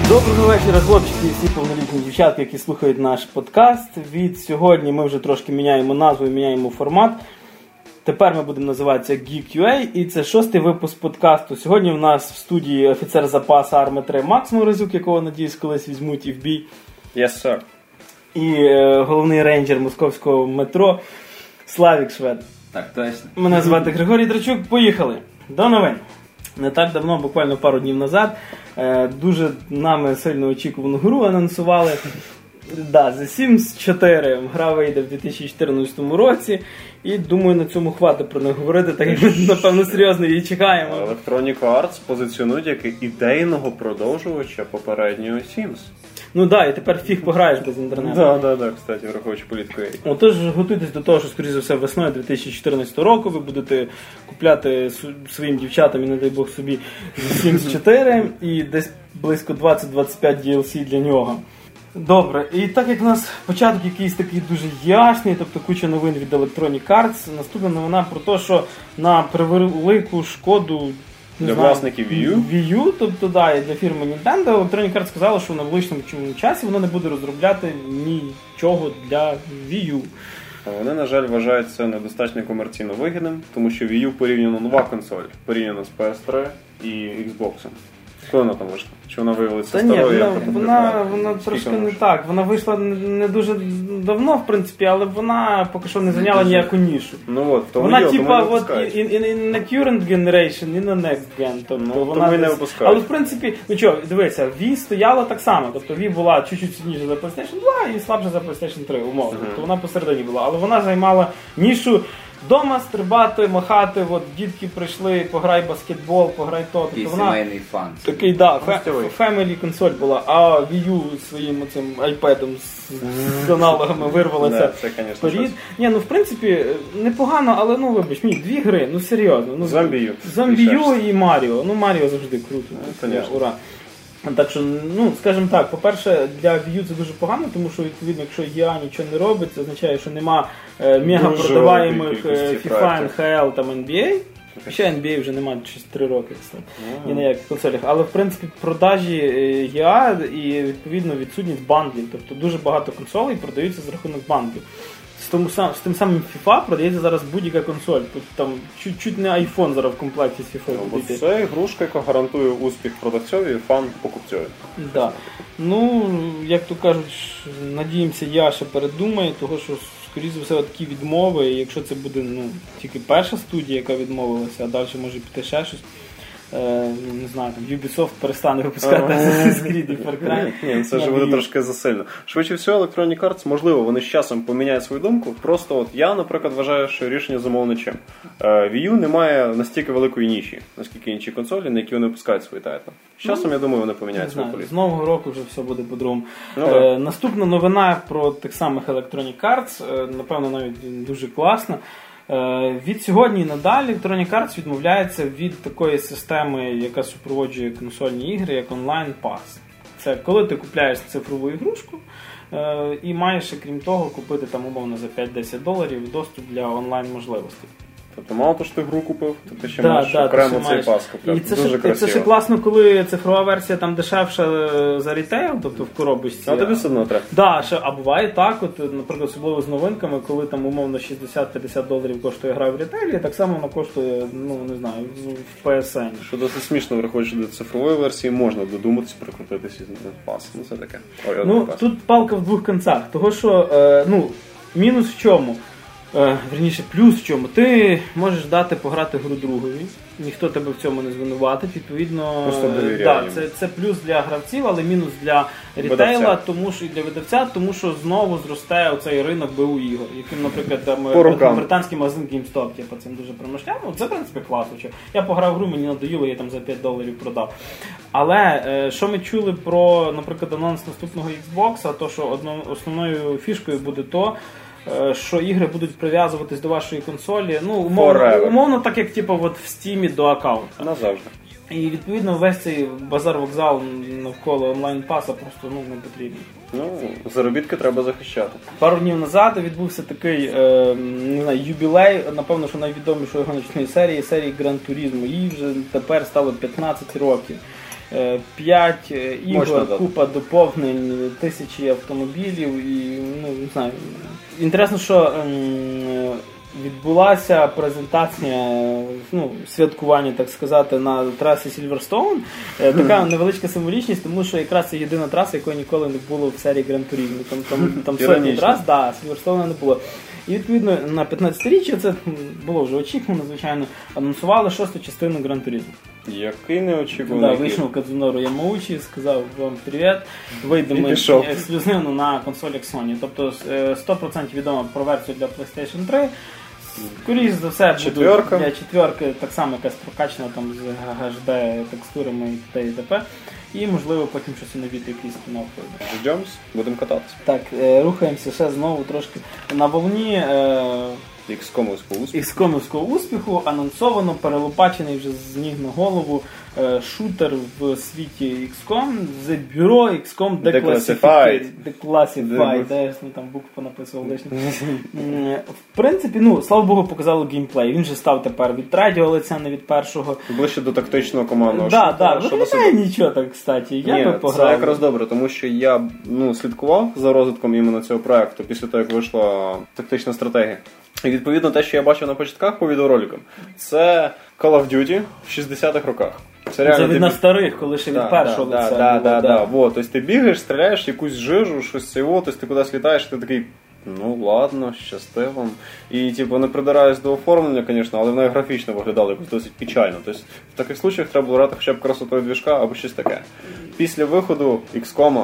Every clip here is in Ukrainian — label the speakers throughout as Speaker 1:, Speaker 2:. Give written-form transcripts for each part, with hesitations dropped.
Speaker 1: Доброго вечора, хлопчики і всі повнолітні дівчатки, які слухають наш подкаст. Від сьогодні ми вже трошки міняємо назву і міняємо формат. Тепер ми будемо називатися Geek.ua, і це 6-й випуск подкасту. Сьогодні в нас в студії офіцер запасу Арми 3 Макс Морозюк, якого, надіюсь, колись візьмуть і в бій.
Speaker 2: Yes, sir.
Speaker 1: І головний рейнджер московського метро Славік Швед.
Speaker 3: Так, точно.
Speaker 1: Мене звати Григорій Драчук. Поїхали. До новин. Не так давно, буквально пару днів назад, дуже нами сильно очікувану гру анонсували. Да, The Sims 4. Гра вийде в 2014 році. І думаю, на цьому хватить про неї говорити, так як ми, напевно, серйозно її чекаємо.
Speaker 2: Electronic Arts позиціонують як ідейного продовжувача попереднього Sims.
Speaker 1: Ну да, і тепер фіг пограєш без інтернету.
Speaker 2: Да, кстати, враховуючи політику.
Speaker 1: Отож, готуйтесь до того, що, скоріше за все, весною 2014 року ви будете купляти своїм дівчатам і, не дай Бог, собі Sims 4 і десь близько 20-25 DLC для нього. Добре, і так як в нас початок якийсь такий дуже ясний, тобто куча новин від Electronic Arts, наступна новина про те, що на превелику шкоду
Speaker 2: для власників
Speaker 1: Wii U, тобто да, і для фірми Nintendo, Electronic Arts сказала, що в найближчому часі вона не буде розробляти нічого для Wii U.
Speaker 2: Вони, на жаль, вважають це недостатньо комерційно вигідним, тому що Wii U порівняно нова консоль, порівняно з PS3 і Xbox. Коли вона там вийшла? Чи вона виявилася старою?
Speaker 1: Вона трошки не так. Вона вийшла не дуже давно, в принципі, але вона поки що не зайняла ніяку нішу.
Speaker 2: Ну от, тому
Speaker 1: вона типа і на current generation, і на next gen. Тобто вона
Speaker 2: не випускають.
Speaker 1: Але в принципі, ну що, дивися, Wii стояла так само. Тобто Wii була чуть-чуть сильніше за PlayStation 2 і слабше за PlayStation 3, умовно. Тобто вона посередині була. Але вона займала нішу дома стрибати, махати, от дітки прийшли, пограй баскетбол, пограй то.
Speaker 3: Тобто вона сімейний фан.
Speaker 1: Такий, да, family консоль була, а Wii U своїм оцим iPad-ом з аналогами вирвалася вперед. Ні, ну в принципі, непогано, але ну вибач, дві гри, ну серйозно. Ну, Зомбію і Маріо. Ну Маріо завжди круто. Ура. Так що, ну, скажімо так, по-перше, для Wii U це дуже погано, тому що, відповідно, якщо EA нічого не робить, це означає, що нема мега продаваємих FIFA, NHL, там NBA. Ще NBA вже немає 3 роки, ні на яких консолях. Але, в принципі, продажі EA і, відповідно, відсутність бандлів. Тобто дуже багато консолей продаються за рахунок бандлів. З тим самим FIFA продається зараз будь-яка консоль. Там чуть не iPhone зараз в комплекті з FIFA буде.
Speaker 2: Це ігрушка, яка гарантує успіх продавцьові і фан покупцьові.
Speaker 1: Да. Ну, як то кажуть, надіємося, я ще передумаю, того що, скоріше за все, такі відмови, і якщо це буде тільки перша студія, яка відмовилася, а далі може піти ще щось. Не знаю, там Ubisoft перестане випускати Assassin's Creed і Far Cry.
Speaker 2: Ні, це ж буде трошки засильно. Швидше всього, Electronic Arts, можливо, вони з часом поміняють свою думку. Просто от я, наприклад, вважаю, що рішення зумовлено чим. Wii U не має настільки великої ніші, наскільки інші консолі, на які вони випускають свої тайтли. З часом, я думаю, вони поміняють свою політику.
Speaker 1: З нового року вже все буде по-другому. Наступна новина про тих самих Electronic Arts, напевно, навіть дуже класна. Від сьогодні і надалі Electronic Arts відмовляється від такої системи, яка супроводжує консольні ігри, як онлайн пас. Це коли ти купляєш цифрову ігрушку і маєш, крім того, купити там умовно за $5-10 доступ для онлайн можливостей.
Speaker 2: Тобто мало то, що ти гру купив, то ти ще маєш окремо цей пас купляти.
Speaker 1: І це ще класно, коли цифрова версія там дешевша за рітейл, тобто в коробочці.
Speaker 2: А тобі все одно треба.
Speaker 1: Да, а буває так, от, наприклад, особливо з новинками, коли там умовно $60-50 коштує гра в рітейлі, так само вона коштує, не знаю, в PSN.
Speaker 2: Що досить смішно, враховуючи до цифрової версії, можна додуматися прикрутитися з пас. Ну це таке.
Speaker 1: Тут палка в двох кінцях, того що, мінус в чому? Вірніше, плюс в чому? Ти можеш дати пограти гру другові, ніхто тебе в цьому не звинуватить, відповідно, це плюс для гравців, але мінус для рітейла, тому що і для видавця, тому що знову зростає оцей ринок БУ ігор, яким, наприклад, там британський магазин GameStop цим дуже промишляв. Це, в принципі, класно. Я пограв гру, мені надоїло, я там за $5 продав. Але що ми чули про, наприклад, анонс наступного Xbox, то що основною фішкою буде то, що ігри будуть прив'язуватись до вашої консолі, умовно так, як в Steam до аккаунта.
Speaker 2: Назавжди.
Speaker 1: І відповідно весь цей базар-вокзал навколо онлайн-паса просто не потрібен.
Speaker 2: Заробітки треба захищати.
Speaker 1: Пару днів назад відбувся такий юбілей, напевно, що найвідомішої гоночної серії Gran Turismo. Їй вже тепер стало 15 років. 5 ігор, купа доповнень, тисячі автомобілів і, ну, не знаю. Інтересно, що відбулася презентація, ну, святкування, так сказати, на трасі Сільверстоун. Така невеличка символічність, тому що якраз це єдина траса, якої ніколи не було в серії Гран-туризму. Там сотні трас, да, Сільверстоуна не було. І, відповідно, на 15-річчя, це було вже очікувано, звичайно, анонсували 6-ту частину Гран-туризму.
Speaker 2: Який неочікуваний.
Speaker 1: Да, вийшов Кадзунору Ямаучі, сказав вам привіт, вийдемо ексклюзивно на консолях Sony. Тобто 100% відомо про версію для PlayStation 3. Скоріше за все, для четверки так само якась прокачана там з HD текстурами і т.д. і т.п. І, можливо, потім щось новіте, якийсь спін-офф.
Speaker 2: Ждемось, будемо кататися.
Speaker 1: Так, рухаємося ще знову трошки на волні XCOM-овського успіху. Анонсовано, перелопачений вже з ніг на голову шутер в світі XCOM з бюро XCOM Declassified. Де там букву понаписував лишньо. В принципі, ну, слава Богу, показали геймплей. Він же став тепер від третього лиця, не від першого.
Speaker 2: Ближче до тактичного командного шутера.
Speaker 1: Так, виглядає нічого так, кстати. Я би пограв.
Speaker 2: Це якраз добре, тому що я слідкував за розвитком іменно цього проекту після того, як вийшла тактична стратегія. І відповідно те, що я бачив на початках по відеороликам, це Call of Duty в 60-х роках.
Speaker 1: Це від на старих, коли ще від першого лиця.
Speaker 2: Так. Тобто ти бігаєш, стріляєш якусь жижу, щось цього, тобто ти кудись літаєш, ти такий, ну ладно, щасти вам. І типу, не придираюсь до оформлення, звісно, але воно графічно виглядало якось досить печально. Тобто в таких случаях треба було грати хоча б красотою двіжка або щось таке. Після виходу XCOM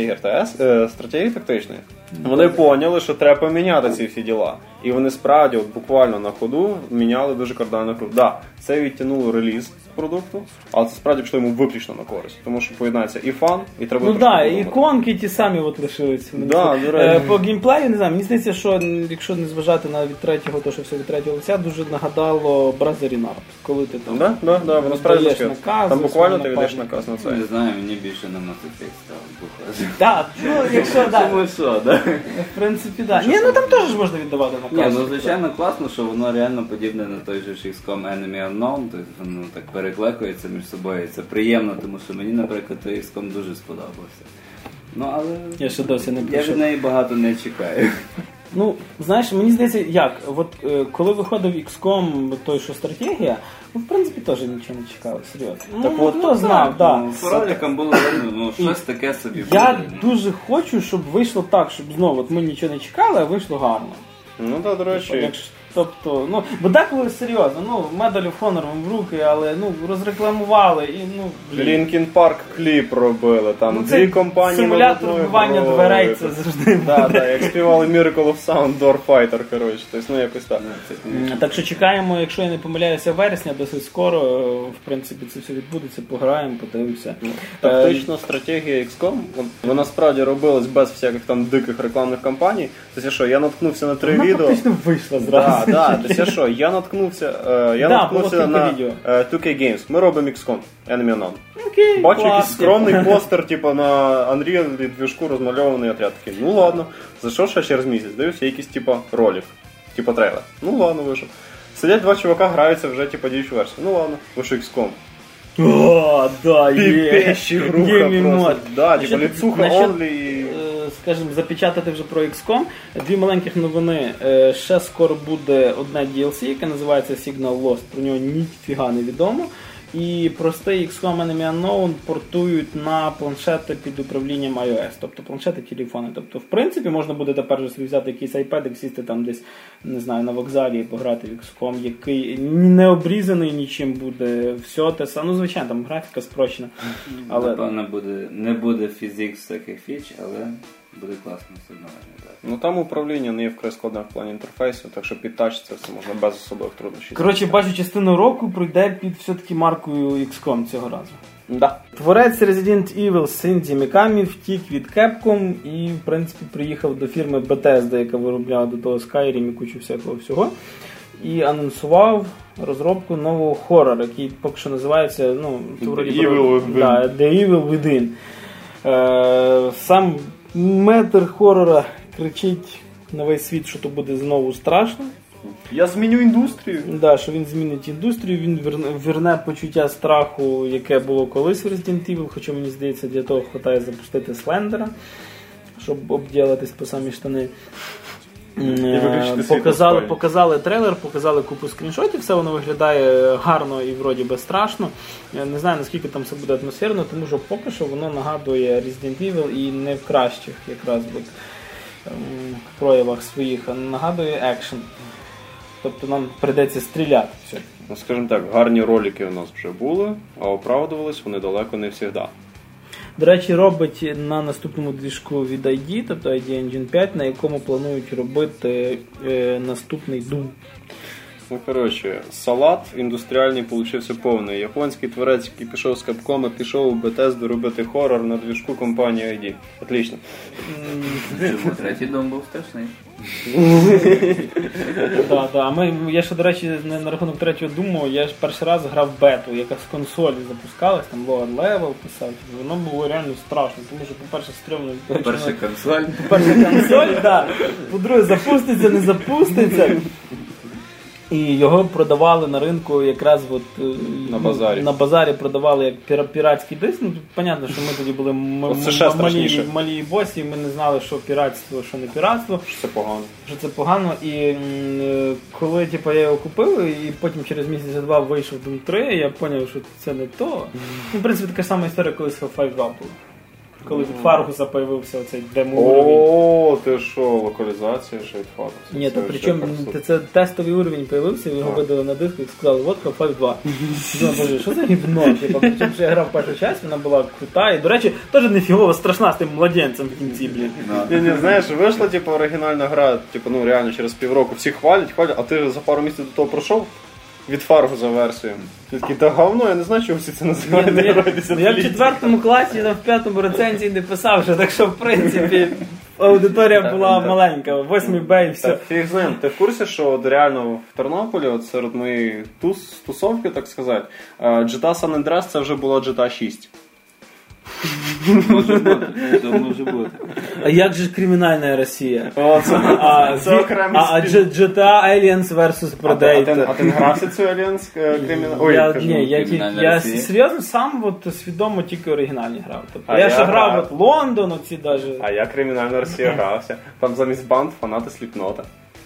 Speaker 2: стратегії тактичної, вони поняли, що треба поміняти ці всі діла. І вони справді, от буквально на ходу, міняли дуже кардинальну гру. Так, це відтягнуло реліз продукту, але це справді пішло йому виключно на користь. Тому що поєднається і фан, і треба...
Speaker 1: Ну так, і іконки ті самі от лишилися. По геймплею, не знаю, мені здається, що якщо не зважати на від третього, то що все від третього лиця, дуже нагадало Бразерінар. Коли ти там
Speaker 2: воно справді таке. Там буквально ти віддаєш наказ на це.
Speaker 3: Не знаю, мені більше на Mass Effect стало.
Speaker 1: Так, ну якщо так.
Speaker 3: Тому що, так?
Speaker 1: В принципі, так. Ні, ну там теж можна віддавати наказ.
Speaker 3: Ні, ну звичайно класно, що воно реально подібне на той же XCOM Enemy Unknown, тобто воно так переклекується між собою, це приємно, тому що мені, наприклад, той XCOM дуже сподобався. Ну, але
Speaker 1: я ще досі не
Speaker 3: я від неї багато не чекаю.
Speaker 1: Ну, знаєш, мені здається, як, от коли виходив XCOM, той, що стратегія, ну, в принципі, теж нічого не чекали, серйозно.
Speaker 2: Так
Speaker 1: от хто знав, так.
Speaker 3: По роликам було видно, ну, щось таке собі.
Speaker 1: Я дуже хочу, щоб вийшло так, щоб знову, от ми нічого не чекали, а вийшло гарно.
Speaker 2: Ну, так, до речі.
Speaker 1: Тобто, ну, бо деколи серйозно, ну, Medal of Honor в руки, але, ну, розрекламували і, ну,
Speaker 2: Linkin Park кліп робили, там, дві компанії
Speaker 1: симулятор вбивання дверей, це завжди буде.
Speaker 2: Так, як співали Miracle of Sound, Door Fighter, коротше, тобто, ну, якось так.
Speaker 1: Так що чекаємо, якщо я не помиляюся, вересня, досить скоро, в принципі, це все відбудеться, пограємо, подивимося.
Speaker 2: Тактична стратегія XCOM, вона справді робилась без всяких там диких рекламних кампаній. Тобто, що, я наткнувся на 3 відео.
Speaker 1: Вона фактично вийшла зразу.
Speaker 2: Так, це що, я наткнувся на 2K Games. Ми робимо XCOM, Enemy Unknown. Бачу якийсь скромний постер, типу, на Unreal двіжку розмальований отряд. Такий, ну ладно, зайшов ще через місяць, дивився якийсь, типу, ролик, типу трейлер. Ну ладно, вийшов. Сидять два чувака, граються вже, типу, діючу версію. Ну ладно, вийшов XCOM.
Speaker 1: О, да, є.
Speaker 2: Піпещі груха просто. Да, типу, ліцуха онлі.
Speaker 1: Скажімо, запечатати вже про XCOM. Дві маленьких новини. Ще скоро буде одне DLC, яке називається Signal Lost. Про нього ніфіга не відомо. І простий XCOM Enemy Unknown портують на планшети під управлінням iOS. Тобто планшети, телефони. Тобто, в принципі, можна буде тепер собі взяти якийсь iPad, сісти там десь, не знаю, на вокзалі і пограти в XCOM, який не обрізаний нічим буде. Все те саме. Ну, звичайно, там графіка спрощена.
Speaker 3: Але... Напевно, не буде фізикс таких фіч, але буде класно все одно.
Speaker 2: Ну там управління не є вкрай складне в плані інтерфейсу, так що під тач це все можна без особливих труднощів.
Speaker 1: Коротше, бачу, частину року пройде під все-таки маркою XCOM цього разу.
Speaker 2: Да.
Speaker 1: Творець Resident Evil Синдзі Мікамі втік від Capcom і, в принципі, приїхав до фірми Bethesda, яка виробляла до того Skyrim і кучу всього. І анонсував розробку нового хоррора, який поки що називається, ну,
Speaker 2: The
Speaker 1: Evil Within. Сам метр хоррора кричить на весь світ, що то буде знову страшно.
Speaker 2: Я зміню індустрію.
Speaker 1: Да, що він змінить індустрію, він верне почуття страху, яке було колись в Resident Evil, хоча мені здається, для того хватає запустити Слендера, щоб обділитись по самі штани. Показали трейлер, показали купу скріншотів, все воно виглядає гарно і вроді би страшно. Я не знаю, наскільки там все буде атмосферно, тому що поки що воно нагадує Resident Evil і не в кращих якраз проявах своїх, а нагадує екшен. Тобто нам прийдеться стріляти.
Speaker 2: Ну, скажімо так, гарні ролики у нас вже були, а оправдувались вони далеко не завжди.
Speaker 1: До речі, робить на наступному двіжку від ID, тобто ID Engine 5, на якому планують робити наступний Doom.
Speaker 2: Ну, коротше, салат індустріальний получився повний. Японський творець, який пішов з Capcom, пішов у Bethesda робити хорор на двіжку компанії ID. Отлично.
Speaker 3: Третій Doom був страшний.
Speaker 1: Я ще, до речі, на рахунок третього Думу, я ж перший раз грав бету, яка з консолі запускалась, там Lower Level писав, воно було реально страшно, тому що, по-перше, стрімно...
Speaker 3: По-перше, консоль.
Speaker 1: По-перше, консоль, так. По-друге, запуститься, не запуститься. І його продавали на ринку якраз на базарі продавали як піратський диск. Ну, тут, понятно, що ми тоді були малі босі, ми не знали, що піратство, що не піратство. Що це погано. І коли я його купив, і потім через місяць-два вийшов Doom 3, я зрозумів, що це не то. Ну, в принципі, така сама історія, коли з Half-Life 2 була. Коли від Фаргуса появився оцей демо-уровень.
Speaker 2: О, ти що, локалізація ще від Фаргуса?
Speaker 1: Ні, то причому це тестовий уровень появився, його видали на диску і сказали, от Half-Life 2. Думаю, боже, що за гівно? Причому, що я грав першу частину, вона була крута, і, до речі, теж нефігово страшна з тим младенцем в кінці, блін.
Speaker 2: Ні, знаєш, вийшла, оригінальна гра, реально через півроку, всі хвалять, а ти за пару місяців до того пройшов? Від Фаргуса версію. Ти такий, та говно, я не знаю, чого всі це називають.
Speaker 1: Я в 4 класі, в 5 рецензії не писав, що так що, в принципі, аудиторія була маленька, 8 Б і все.
Speaker 2: Фіг з ним. Ти в курсі, що реально в Тернополі, серед моєї тусовки, так сказати, GTA San Andreas це вже була GTA 6.
Speaker 3: Може бути.
Speaker 1: А як же кримінальна Росія?
Speaker 2: Це окремий
Speaker 1: спів. GTA Aliens vs Predator.
Speaker 2: А ти не грався цю Aliens кримінальну?
Speaker 1: Я серйозно сам свідомо тільки оригінальні грав. Я ще грав Лондон, оці даже.
Speaker 2: А я кримінальна Росія грався. Там замість банд фанати Сліпнота.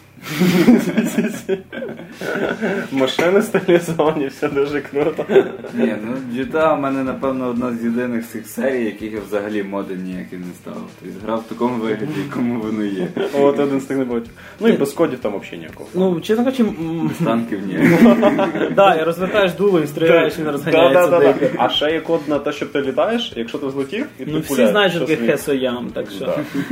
Speaker 2: Машини стилізовані, все дуже круто.
Speaker 3: Ні, GTA в мене, напевно, одна з єдиних цих серій, яких я взагалі моди ніякі не ставив. Тобто грав в такому вигляді, якому воно є.
Speaker 2: От один з тих не бачив. Ну і без кодів там взагалі ніякого.
Speaker 1: Ну, чесно кажучи...
Speaker 3: Без танків ні.
Speaker 1: Так, і розвертаєш дуло і стріляєш, він розганяється.
Speaker 2: А ще є код на те, що ти літаєш, якщо ти злетів, і ти пуляєш.
Speaker 1: Ну, всі знають, що таке Хесоям, так що...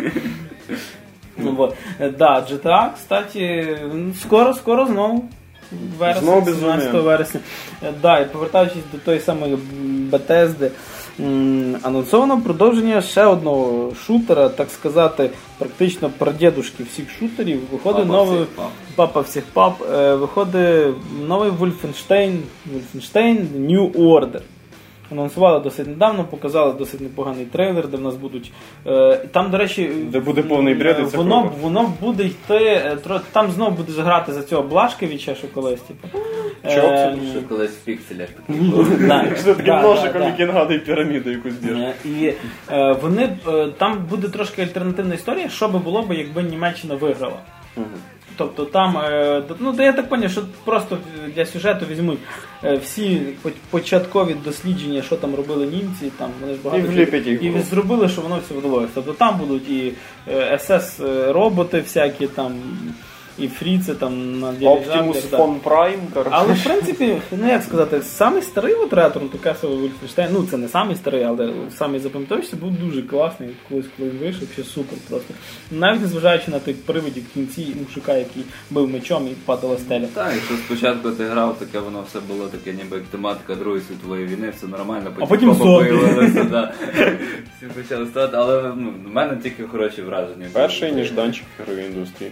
Speaker 1: Да, GTA, кстати, скоро знову.
Speaker 2: Знову
Speaker 1: 17 вересня. Да, і повертаючись до тої самої Bethesda, анонсовано продовження ще одного шутера, так сказати, практично прадедушки всіх шутерів. Виходить новий папа всіх пап, виходить новий Wolfenstein New Order. Анонсували досить недавно, показали досить непоганий трейлер, де в нас будуть... Там, до речі...
Speaker 2: Де буде повний бред, і це
Speaker 1: воно буде йти... Там знову будеш грати за цього Блашкевича, що колись, типу.
Speaker 3: Що колись в пікселях такий був.
Speaker 2: Що таким ножиком, який нагадує піраміду якусь діж.
Speaker 1: І там буде трошки альтернативна історія, що би було, якби Німеччина виграла. Тобто там, я так зрозумів, що просто для сюжету візьмуть всі початкові дослідження, що там робили німці, там вони ж багато і зробили, що воно все вдалося. Тобто там будуть і СС-роботи всякі, там, і фріци там на
Speaker 2: Optimus Fon Prime, коротше.
Speaker 1: Але в принципі, як сказати, самий старий ретро, Castle Wolfenstein, це не самий старий, але самий запам'ятовуючий, був дуже класний, коли він вийшов, ще супер просто. Навіть незважаючи на той привидів в кінці мужика, який бив мечом і падала стеля.
Speaker 3: Так, якщо спочатку ти грав, таке воно все було таке, ніби як тематика Другої світової війни, все нормально,
Speaker 1: потім
Speaker 3: появилося, всі почали ставати, але в мене тільки хороші враження.
Speaker 2: Перший ніжданчик ігрової індустрії.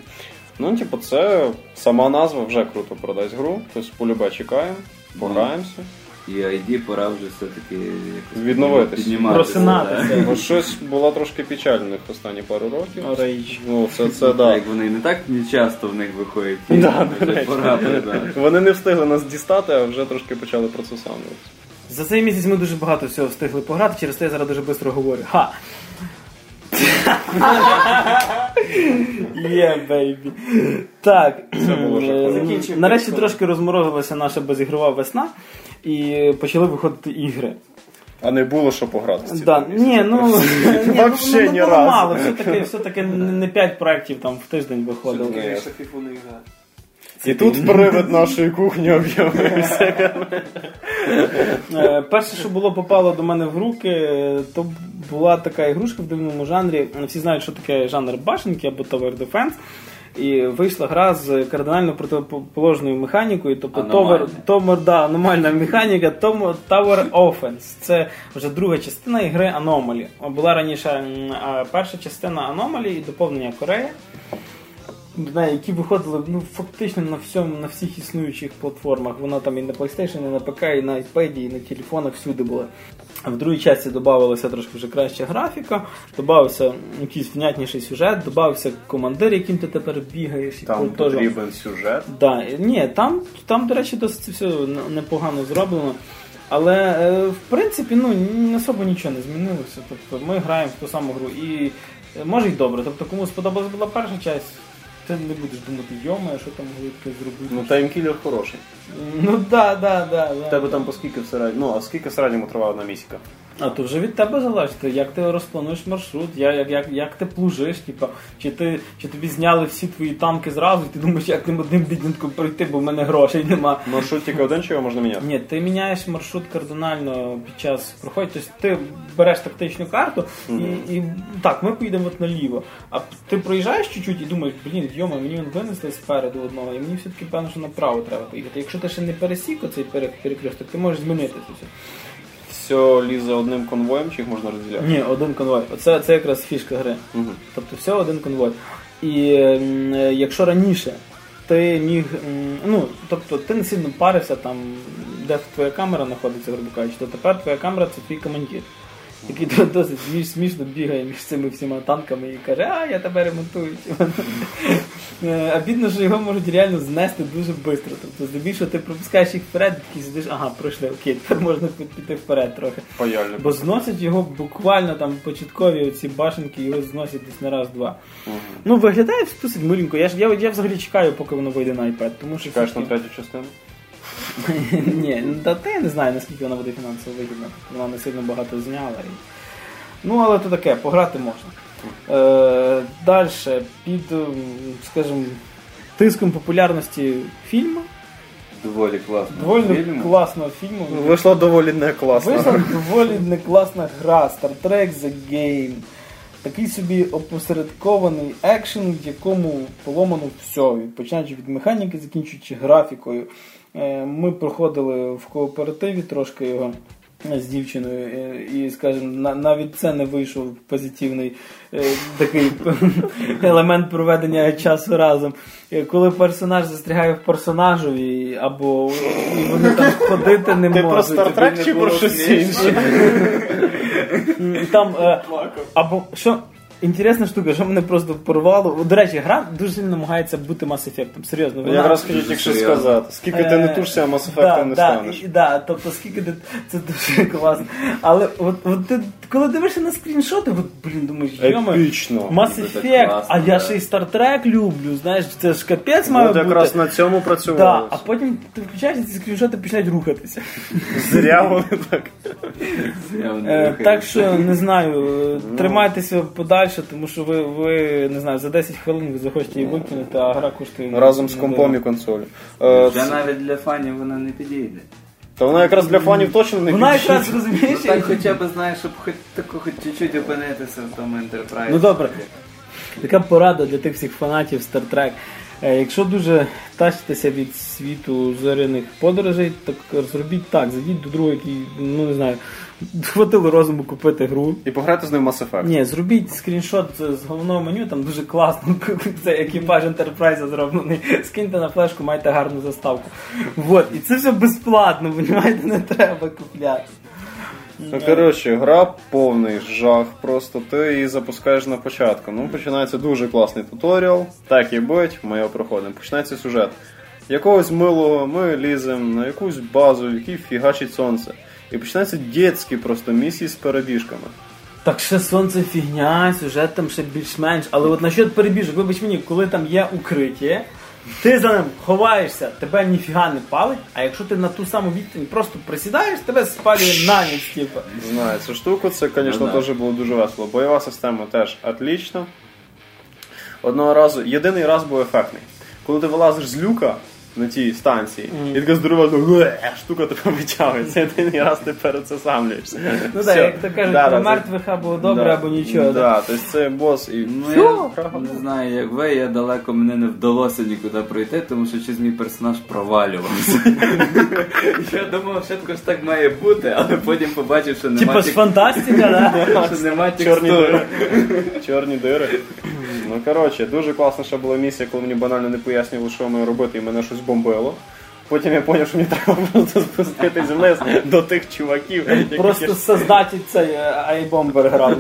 Speaker 2: Це сама назва вже круто продасть гру, тобто полюбе чекаємо, пограємося.
Speaker 3: І ID пора вже все-таки
Speaker 2: відновитися.
Speaker 1: Просинатися.
Speaker 2: Бо щось було трошки печальних останні пару років.
Speaker 1: Rage.
Speaker 2: Це да.
Speaker 3: Як вони не так часто в них виходять.
Speaker 2: Вони не встигли нас дістати, а вже трошки почали процесувати.
Speaker 1: За цей місяць ми дуже багато всього встигли пограти, через те я зараз дуже швидко говорю. Ха! Бейбі. Так, нарешті трошки розморозилася наша безігрова весна і почали виходити ігри.
Speaker 2: А не було що пограти з
Speaker 1: да, ні,
Speaker 2: вообще ні разу.
Speaker 1: Мало, все-таки не 5 проєктів там в тиждень виходило.
Speaker 2: І тут привид нашої кухні об'явився.
Speaker 1: Перше, що попало до мене в руки, то була така ігрушка в дивному жанрі. Всі знають, що таке жанр башенки або Tower Defense. І вийшла гра з кардинально протиположною механікою, тобто аномальна механіка Tower Offense. Це вже друга частина ігри Anomaly. Була раніше перша частина Anomaly і доповнення Корея, які виходили фактично на всіх існуючих платформах. Вона там і на PlayStation, і на ПК, і на iPad, і на телефонах, всюди була. В другій часті додавалася трошки вже краща графіка, додався якийсь внятніший сюжет, додався командир, яким ти тепер бігаєш.
Speaker 2: Там потрібен сюжет?
Speaker 1: Да. Ні, там, до речі, досить все непогано зроблено. Але, в принципі, особо нічого не змінилося. Тобто ми граємо в ту саму гру. І може й добре. Тобто кому сподобалась була перша часть, ти не будеш думати, йома, що там могли таке зробити.
Speaker 2: Таймкілер хороший.
Speaker 1: Да.
Speaker 2: В тебе там по скільки в середньому? А скільки в середньому триває одна місіка?
Speaker 1: А то вже від тебе залежить, як ти розплануєш маршрут, як ти плужиш, чи тобі зняли всі твої танки зразу, і ти думаєш, як тим одним бідненьком пройти, бо в мене грошей нема.
Speaker 2: Маршрут тільки один, чи його можна міняти?
Speaker 1: Ні, ти міняєш маршрут кардинально під час проходу. Тобто ти береш тактичну карту і так, ми поїдемо наліво. А ти проїжджаєш чуть-чуть і думаєш, мені він винесли спереду одного, і мені все-таки певно, що направо треба поїхати. Якщо ти ще не пересік оцей перекресток, ти можеш змінити це.
Speaker 2: Все лізе одним конвоєм, чи їх можна розділяти?
Speaker 1: Ні, один конвой. Це якраз фішка гри. Тобто все один конвой. І якщо раніше ти міг, тобто ти не сильно парився там, де твоя камера знаходиться, грубо кажучи, то тепер твоя камера це твій командир, який досить смішно бігає між цими всіма танками і каже, я тебе ремонтую. А бідно, що його можуть реально знести дуже швидко. Тобто, здебільшого ти пропускаєш їх вперед, такий сидиш, пройшли, окей, тепер можна піти вперед трохи.
Speaker 2: Паяльно.
Speaker 1: Бо зносять його буквально там початкові оці башенки, його зносять десь на раз-два. Виглядає досить миленько. Я взагалі чекаю, поки воно вийде на iPad.
Speaker 2: Чекаєш на третю частину?
Speaker 1: Ні, я не знаю, наскільки вона буде фінансово вигідна. Вона не сильно багато зняла. Але то таке, пограти можна. Далі, під, скажімо, тиском популярності фільму.
Speaker 3: Доволі
Speaker 1: класного фільму.
Speaker 2: Вийшла доволі не класна.
Speaker 1: Вийшла доволі не класна гра Star Trek The Game. Такий собі опосередкований екшен, в якому поломано все. Починаючи від механіки, закінчуючи графікою. Ми проходили в кооперативі трошки його з дівчиною і, скажімо, навіть це не вийшов позитивний такий елемент проведення часу разом. Коли персонаж застрягає в персонажові, або вони там ходити не можуть.
Speaker 2: Ти про Star Trek чи про щось інше?
Speaker 1: Там, або, що... Інтересна штука, що мене просто порвало. До речі, гра дуже сильно намагається бути Mass Effect. Серйозно.
Speaker 2: Я якраз хотів тільки сказати. Скільки ти не тушся, Mass Effect не станеш.
Speaker 1: Тобто, скільки ти... Це дуже класно. Але от ти, коли дивишся на скріншоти, думаєш,
Speaker 2: епічно.
Speaker 1: Mass Effect, а я ще й Star Trek люблю, знаєш, це ж капець має бути.
Speaker 2: От якраз на цьому працювали.
Speaker 1: А потім ти включаєшся, ці скріншоти починають рухатися.
Speaker 2: Зря вони так.
Speaker 1: Так що, не знаю, тримайтеся подальше, тому що ви не знаю, за 10 хвилин ви захочете її викинути, а гра коштує...
Speaker 2: Разом з компом і консолі.
Speaker 3: Вже навіть для фанів вона не підійде.
Speaker 2: Та вона якраз для фанів точно не підійде.
Speaker 1: Вона якраз, розумієш...
Speaker 3: Так хоча б, знаєш, щоб хоч чуть-чуть опинитися в тому Enterprise.
Speaker 1: Добре. Така порада для тих всіх фанатів Star Trek. Якщо дуже тащитеся від світу зоряних подорожей, так зробіть так, зайдіть до друга, який, ну не знаю, хватило розуму купити гру.
Speaker 2: І пограти з ним Mass Effect.
Speaker 1: Ні, зробіть скріншот з головного меню, там дуже класно, це екіпаж Enterprise зроблений, скиньте на флешку, маєте гарну заставку. Вот, і це все безплатно, понімаєте, не треба купляти.
Speaker 2: Ну, коротше, гра повний жах, просто ти її запускаєш на початку. Ну, починається дуже класний туторіал, так і бить, ми його проходимо. Починається сюжет. Якогось милого ми ліземо на якусь базу, в якій фігачить сонце. І починаються дітські просто місії з перебіжками.
Speaker 1: Так ще сонце фігня, сюжет там ще більш-менш, але от насчет перебіжок, вибач мені, коли там є укриття, ти за ним ховаєшся, тебе ніфіга не палить, а якщо ти на ту саму відстань просто присідаєш, тебе спалює на ніч, типу.
Speaker 2: Знаю, цю штуку, це, звісно, теж було дуже весело. Бойова система теж отлічна. Одного разу, єдиний раз був ефектний. Коли ти вилазиш з люка на тій станції, і така здорова штука тебе витягується, єдиний раз ти перед це самлюєшся.
Speaker 1: Ну так, як то кажуть, про мертвих або добре, або нічого.
Speaker 2: Так, тобто це бос і...
Speaker 3: Ну, я не знаю, як ви, я далеко, мені не вдалося нікуди пройти, тому що щось мій персонаж провалювався. Я думав, що також так має бути, але потім побачив, що нема...
Speaker 1: Типа з фантастика, да?
Speaker 3: Що нема текстури.
Speaker 2: Чорні дири. Ну, коротше, дуже класно, що була місія, коли мені банально не пояснювали, що маю робити, і мене щось бомбило. Потім я зрозумів, що мені треба просто спуститись вниз до тих чуваків.
Speaker 1: Просто создатель цей айбомбер грав.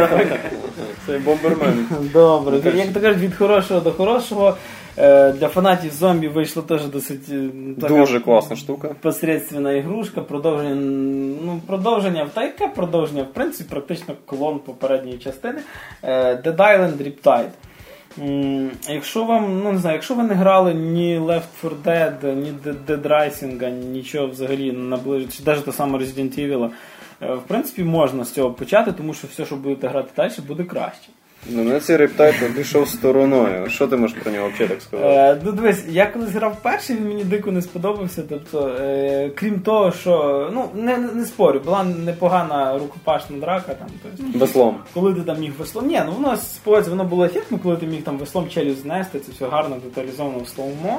Speaker 2: Цей бомбермен.
Speaker 1: Добре, як то кажуть, від хорошого до хорошого. Для фанатів зомбі вийшла теж досить
Speaker 2: дуже класна штука.
Speaker 1: Посередственна ігрушка, продовження, та яке продовження? В принципі, практично клон попередньої частини. Dead Island Riptide. Якщо вам, ну не знаю, якщо ви не грали ні Left 4 Dead, ні Dead Rising, нічого взагалі наближити, чи навіть те саме Resident Evil, в принципі, можна з цього почати, тому що все, що будете грати далі, буде краще.
Speaker 2: Ну, мене цей Riptide пішов стороною. Що ти можеш про нього взагалі так сказати?
Speaker 1: Ну, дивись, я колись грав перший, він мені дико не сподобався. Тобто, крім того, що, ну, не спорю, була непогана рукопашна драка. Там, тобто,
Speaker 2: веслом.
Speaker 1: Коли ти там міг веслом. Ні, ну воно сподівається, воно було ефектно, коли ти міг там веслом челюсть знести, це все гарно деталізовано в слоумо.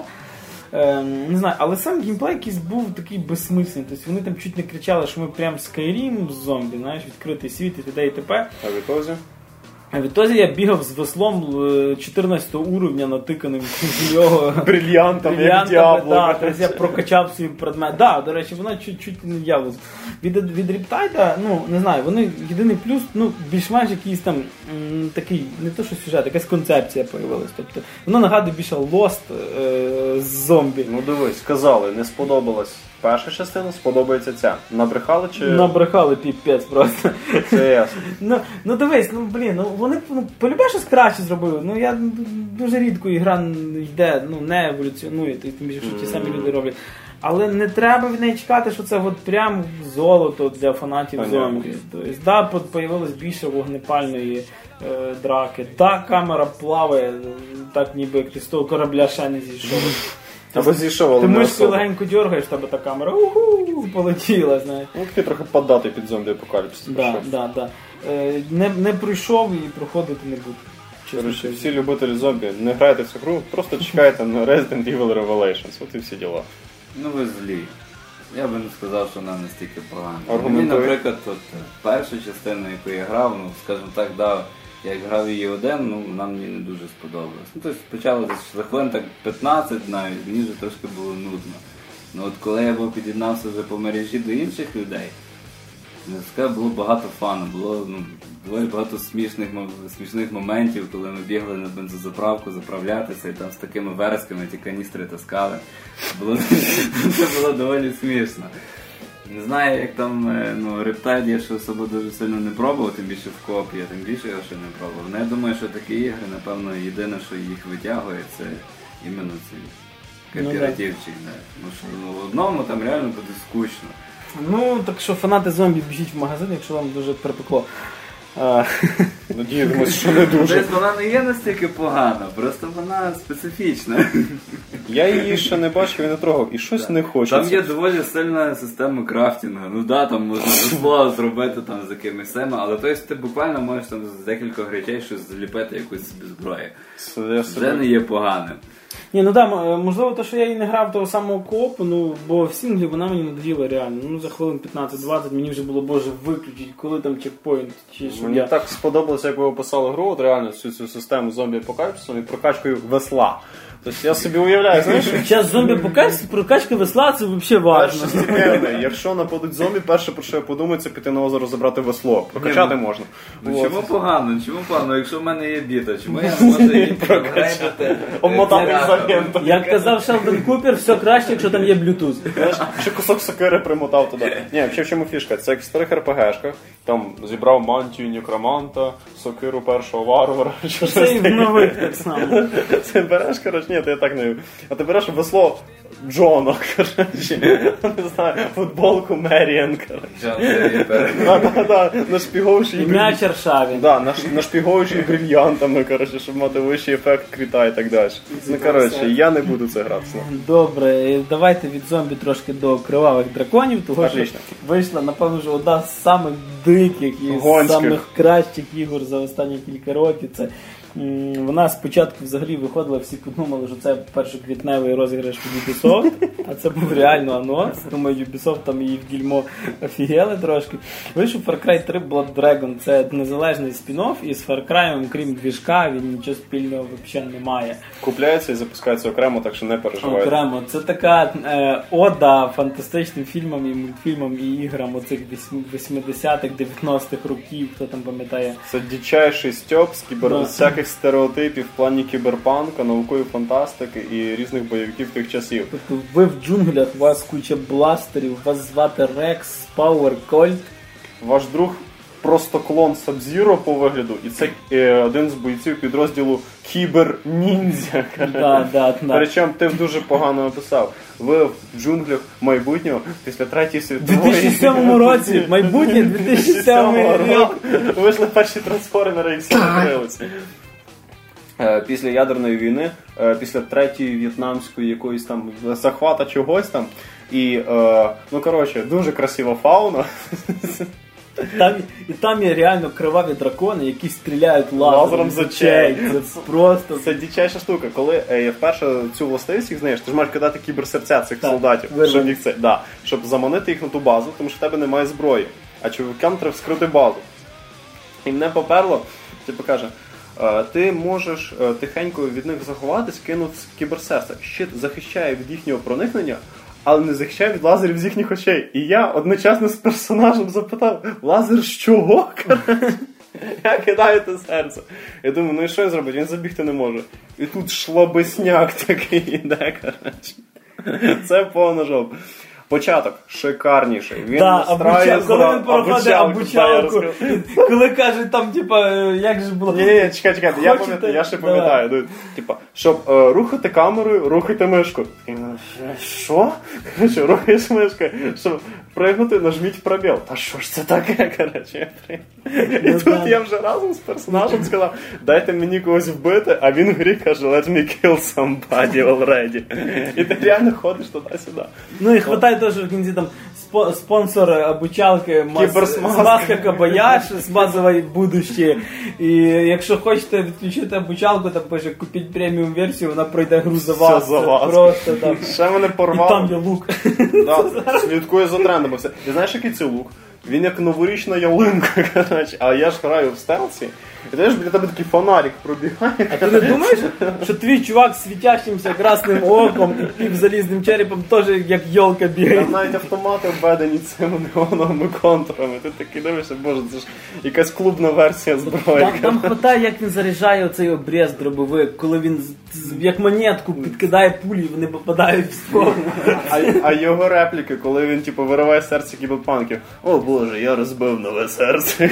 Speaker 1: Не знаю, але сам геймплей якийсь був такий безсмислений. Тобто вони там чуть не кричали, що ми прям Skyrim з зомбі, знаєш, відкритий світ і т.д. і т.п.
Speaker 2: А відтоді?
Speaker 1: А відтоді я бігав з веслом 14 уровня, натиканим в нього
Speaker 2: брильянтом, як Діабло.
Speaker 1: Да, тобто я прокачав свій предмет. Да, до речі, вона чуть-чуть не явилась. Від Riptide, ну, не знаю, вони єдиний плюс, ну, більш-менш якийсь там такий, не то що сюжет, якась концепція появилась. Тобто, воно нагадує більше Lost з зомбі.
Speaker 2: Ну, дивись, сказали, не сподобалась перша частина, сподобається ця. Набрехали чи...
Speaker 1: Набрехали піпець просто.
Speaker 2: Це ясно.
Speaker 1: Ну дивись, вони полюбе щось краще зробили. Ну я дуже рідко ігра йде, не еволюціонує, тим більше, що ті самі люди роблять. Але не треба від неї чекати, що це от прям золото для фанатів зомбі. Тобто, да, появилось більше вогнепальної драки. Да, камера плаває, так ніби як з того корабля ще не зійшов.
Speaker 2: Або зійшов, але
Speaker 1: ти
Speaker 2: не
Speaker 1: мишкою легенько дергаєш, тебе та камера полетіла, знаєш.
Speaker 2: Ну, ти трохи поддатий під зомбі-апокаліпсис.
Speaker 1: Да. Не пройшов і проходити не буду.
Speaker 2: Короче, всі любителі зомбі, не грайте в цю гру, просто чекайте на Resident Evil Revelations, от і всі діла.
Speaker 3: Ну ви злі. Я би не сказав, що вона настільки погана.
Speaker 2: Аргументує.
Speaker 3: Мені, наприклад, перша частина, яку я грав, ну, скажімо так, я грав її один, ну, вона мені не дуже сподобалась. Ну, тобто спочатку за хвилин так 15 навіть, мені вже трошки було нудно. Ну, от коли я під'єднався вже по мережі до інших людей, було багато фану, було доволі багато смішних моментів, коли ми бігли на бензозаправку заправлятися і там з такими вересками ті каністри таскали. Це було доволі смішно. Не знаю, як там Riptide я ще особо дуже сильно не пробував, тим більше в коопі, тим більше його ще не пробував. Але я думаю, що такі ігри, напевно, єдине, що їх витягує, це іменно цей кооперативчик. Тому що в одному там реально буде скучно.
Speaker 1: Ну, так що фанати зомбі біжіть в магазин, якщо вам дуже припекло.
Speaker 2: Надіємося, що не дуже.
Speaker 3: Тобто вона не є настільки погана, просто вона специфічна.
Speaker 2: Я її ще не бачив і не трогав, і щось не хочеться.
Speaker 3: Там є доволі сильна система крафтингу. Ну да, там можна весло зробити там з якимись семи, але то есть ти буквально можеш там з декількох речей щось зліпити, якусь собі зброю. Вже не є поганим.
Speaker 1: Ні, ну так, можливо, то, що я і не грав того самого коопу, ну, бо в сінглі вона мені надоїла реально. Ну, за хвилин 15-20 мені вже було, боже, виключить, коли там чекпоінт.
Speaker 2: Мені так сподобалося, як ви описали гру, от реально всю цю систему зомбі-апокаліпсису і прокачкою весла. Тобто я собі уявляю, знаєш...
Speaker 1: Зараз зомбі-апокаліпсис, прокачка весла, це взагалі важливо.
Speaker 2: Якщо нападуть зомбі, перше, про що я подумаю, це піти на озеро забрати весло. Прокачати можна.
Speaker 3: Ну чому погано? Якщо в мене є біта, чому я не можу її прокачати?
Speaker 2: Обмотати ізоленту.
Speaker 1: Як казав Шелдон Купер, все краще, якщо там є Bluetooth.
Speaker 2: Знаєш, ще кусок сокири примотав туди. Ні, взагалі в чому фішка? Це як в старих РПГшках, там зібрав мантію некроманта, сокиру першого варвара.
Speaker 1: Це і в нових так само.
Speaker 2: Ти береш, коротше, ні, ти так не... А ти береш весло Джона, коротше, не знаю, футболку Меріан, коротше. Да, нашпіговуючи...
Speaker 1: І м'яч Аршавін.
Speaker 2: Да, нашпіговуючи брильянтами, коротше, щоб мати вищий ефект крита і так далі. Ну, коротше, я не буду це грати.
Speaker 1: Добре, давайте від зомбі трошки до кривавих драконів, тому що вийшла, напевно, вже одна з самих диких і самих кращих ігор за останні кілька років. Це вона спочатку взагалі виходила, всі подумали, що це першоквітневий розіграш від Ubisoft, а це був реально анонс. Думаю, Ubisoft там її в гільмо офігели трошки. Вийшов Far Cry 3 Blood Dragon, це незалежний спін-офф, і з Far Cry, крім двіжка, він нічого спільного взагалі не має.
Speaker 2: Купляється і запускається окремо, так що не переживайте.
Speaker 1: Окремо. Це така ода фантастичним фільмам і мультфільмам і іграм оцих 80-х, 90-х років, хто там пам'ятає.
Speaker 2: Це дичайший стьоп з всяких стереотипів в плані кіберпанка, наукової фантастики і різних бойовиків тих часів.
Speaker 1: Тобто ви в джунглях, у вас куча бластерів, вас звати Рекс, Power Colt.
Speaker 2: Ваш друг просто клон Саб-Зіро по вигляду, і це один з бойців підрозділу Кібер-ніндзя. Причому ти дуже погано описав. Ви в джунглях майбутнього після Третьої світової...
Speaker 1: У 2007 році, майбутнє 2007 рік.
Speaker 2: Вийшли перші трансформери і всі закрилися. Після ядерної війни, після Третьої в'єтнамської якоїсь там захвата чогось там. І, ну коротше, дуже красива фауна.
Speaker 1: Там є реально криваві дракони, які стріляють лазером з очей.
Speaker 2: Це дичайша штука. Коли вперше цю властивість їх знаєш, ти ж маєш кидати кіберсерця цих солдатів, щоб заманити їх на ту базу, тому що в тебе немає зброї. А чоловікам треба вскрити базу. І мене поперло, типу каже, ти можеш тихенько від них заховатись, кинути кіберсерця. Щит захищає від їхнього проникнення, але не захищає від лазерів з їхніх очей. І я одночасно з персонажем запитав, лазер з чого? Я кидаю те серце. Я думаю, ну і що він зробить? Він забігти не може. І тут шлабесняк такий іде, коротше. Це повна жопа. Початок шикарніший. Він настраює
Speaker 1: коли він проходить обучалку. Коли кажуть там, типа, як же було...
Speaker 2: Ні, чекай, я ще пам'ятаю. Типа, щоб рухати камерою, рухайте мишку. Що? Короче, рухаєш мишкою. Щоб пригнути, нажміть пробіл. Та що ж це таке, короче? І тут я вже разом з персонажем сказав, дайте мені когось вбити, а він в грі каже, let me kill somebody already. І ти реально ходиш туди-сюди.
Speaker 1: Ну і хватає теж в кінці там спонсор обучалки Маска Кабаяш з базової будущее. І якщо хочете відключити обучалку, там пише купіть преміум версію, вона пройде гру за вас.
Speaker 2: Все за вас.
Speaker 1: Просто там.
Speaker 2: Ще мене порвало.
Speaker 1: І там є лук.
Speaker 2: Да, слідкує за трендами. Ти знаєш, який це лук? Він як новорічна ялинка, коротше. А я ж граю в стелсі. І ти ж біля тебе такий фонарик пробігає.
Speaker 1: А ти не думаєш, що твій чувак з світящимся красним оком і півзалізним черепом теж як йолка бігає?
Speaker 2: Там навіть автомати обведені цими неоновими контурами. Ти такий дивишся, боже, це ж якась клубна версія зброї.
Speaker 1: Там хватає, як він заряджає оцей обрез дробовик, коли він як монетку підкидає пулі, і вони попадають в ствол.
Speaker 2: А його репліки, коли він типу вириває серце кіберпанків. О боже, я розбив нове серце.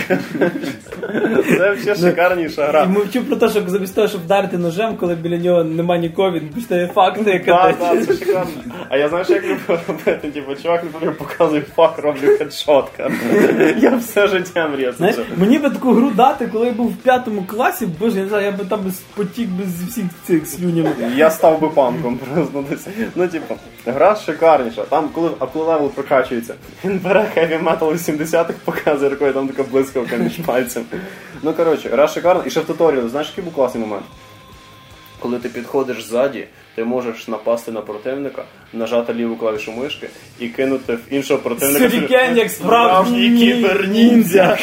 Speaker 2: Це взагалі шикарніша гра.
Speaker 1: І мовчу про те, що замість того, щоб вдарити ножем, коли біля нього нема нікого, він починає факти.
Speaker 2: Так, це шикарно. А я знаєш, як люблю робити? Типу, чувак, не показує фак, роблю хедшот. Я все життя мрію.
Speaker 1: Знаєш, мені би таку гру дати, коли я був в 5 класі, боже, я не знаю, я би там потік без всіх цих слюнів.
Speaker 2: Я став би панком просто десь. Ну, типу, гра шикарніша. Там, коли левел прокачується, він бере Heavy Metal 80-х, показує рукою, там така блискавка між пальцем. Ну, коротше, гра шикарна. І ще в туторіалі, знаєш, який був класний момент? коли ти підходиш ззаді, ти можеш напасти на противника, нажати ліву клавішу мишки і кинути в іншого противника.
Speaker 1: Сюрікен, як справжній кіберніндзя.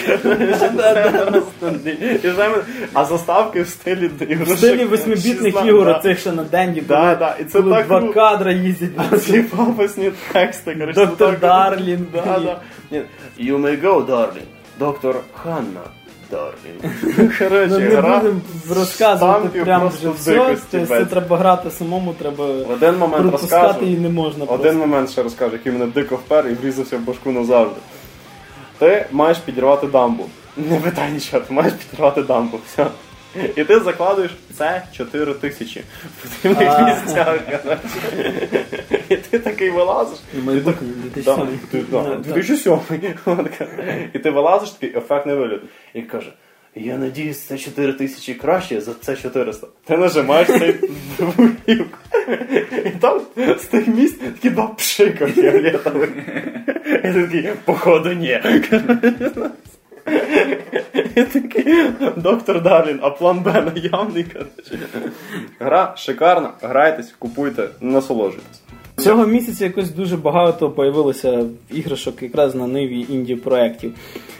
Speaker 2: А заставки в стилі ігрушок.
Speaker 1: В стилі 8-бітних ігор, цих ще на Денді, коли 2 кадра їздять.
Speaker 2: А ці пафосні тексти.
Speaker 1: Доктор Дарлін.
Speaker 2: You may go, darling. Доктор Ханна. Короче,
Speaker 1: не будемо розказувати прямо вже все, це треба грати самому, треба пропускати і не можна.
Speaker 2: Один момент ще розкажу, який мене дико впер і врізався в башку назавжди. Ти маєш підірвати дамбу. Не питай нічого, ти маєш підірвати дамбу. Все. І ти закладуєш це 4000 в потрібних місцях. І ти такий вилазиш. 2007. І ти вилазиш, такий ефектний вигляд. І каже, я надіюсь, це 4000 краще за це 400. Ти нажимаєш цей вугілку. І там з тих місць такі 2 пшика фіолетових. І ти такий, походу, ні. І такий, доктор Дарлін, а план Б наявний. Гра шикарна, грайтесь, купуйте, насолоджуйтесь.
Speaker 1: Цього місяця якось дуже багато появилося іграшок якраз на ниві інді-проєктів.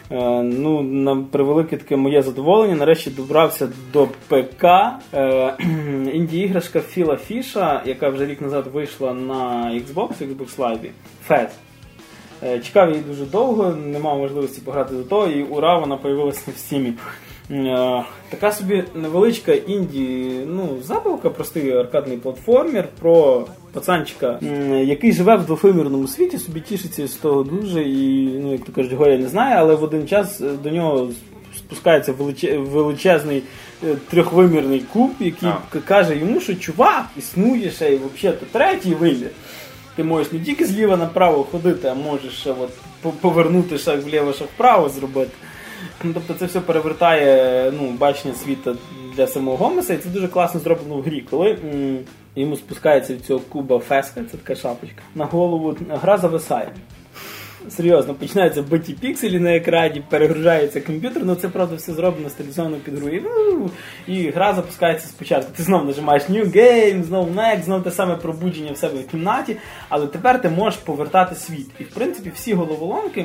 Speaker 1: На превелике таке моє задоволення, нарешті добрався до ПК. Інді-іграшка Філа Фіша, яка вже рік назад вийшла на Xbox Live, Fez. Чекав її дуже довго, не мав можливості пограти до того, і ура, вона появилася в Стімі. Така собі невеличка забавка, простий аркадний платформер про пацанчика, який живе в двохвимірному світі, собі тішиться з того дуже і, як то кажуть, горя не знає, але в один час до нього спускається величезний трьохвимірний куб, який каже йому, що чувак, існує ще і взагалі-то третій вимір. Ти можеш не тільки зліва направо ходити, а можеш ще повернути шаг вліво, шаг вправо зробити. Тобто це все перевертає бачення світу для самого Гомеса, і це дуже класно зроблено в грі. Коли йому спускається від цього куба феска, це така шапочка, на голову, гра зависає. Серйозно, починаються биті пікселі на екрані, перегружається комп'ютер, це, правда, все зроблено стилізовано під гру. І гра запускається спочатку. Ти знову нажимаєш New Game, знову Next, знову те саме пробудження в себе в кімнаті, але тепер ти можеш повертати світ. І, в принципі, всі головоломки...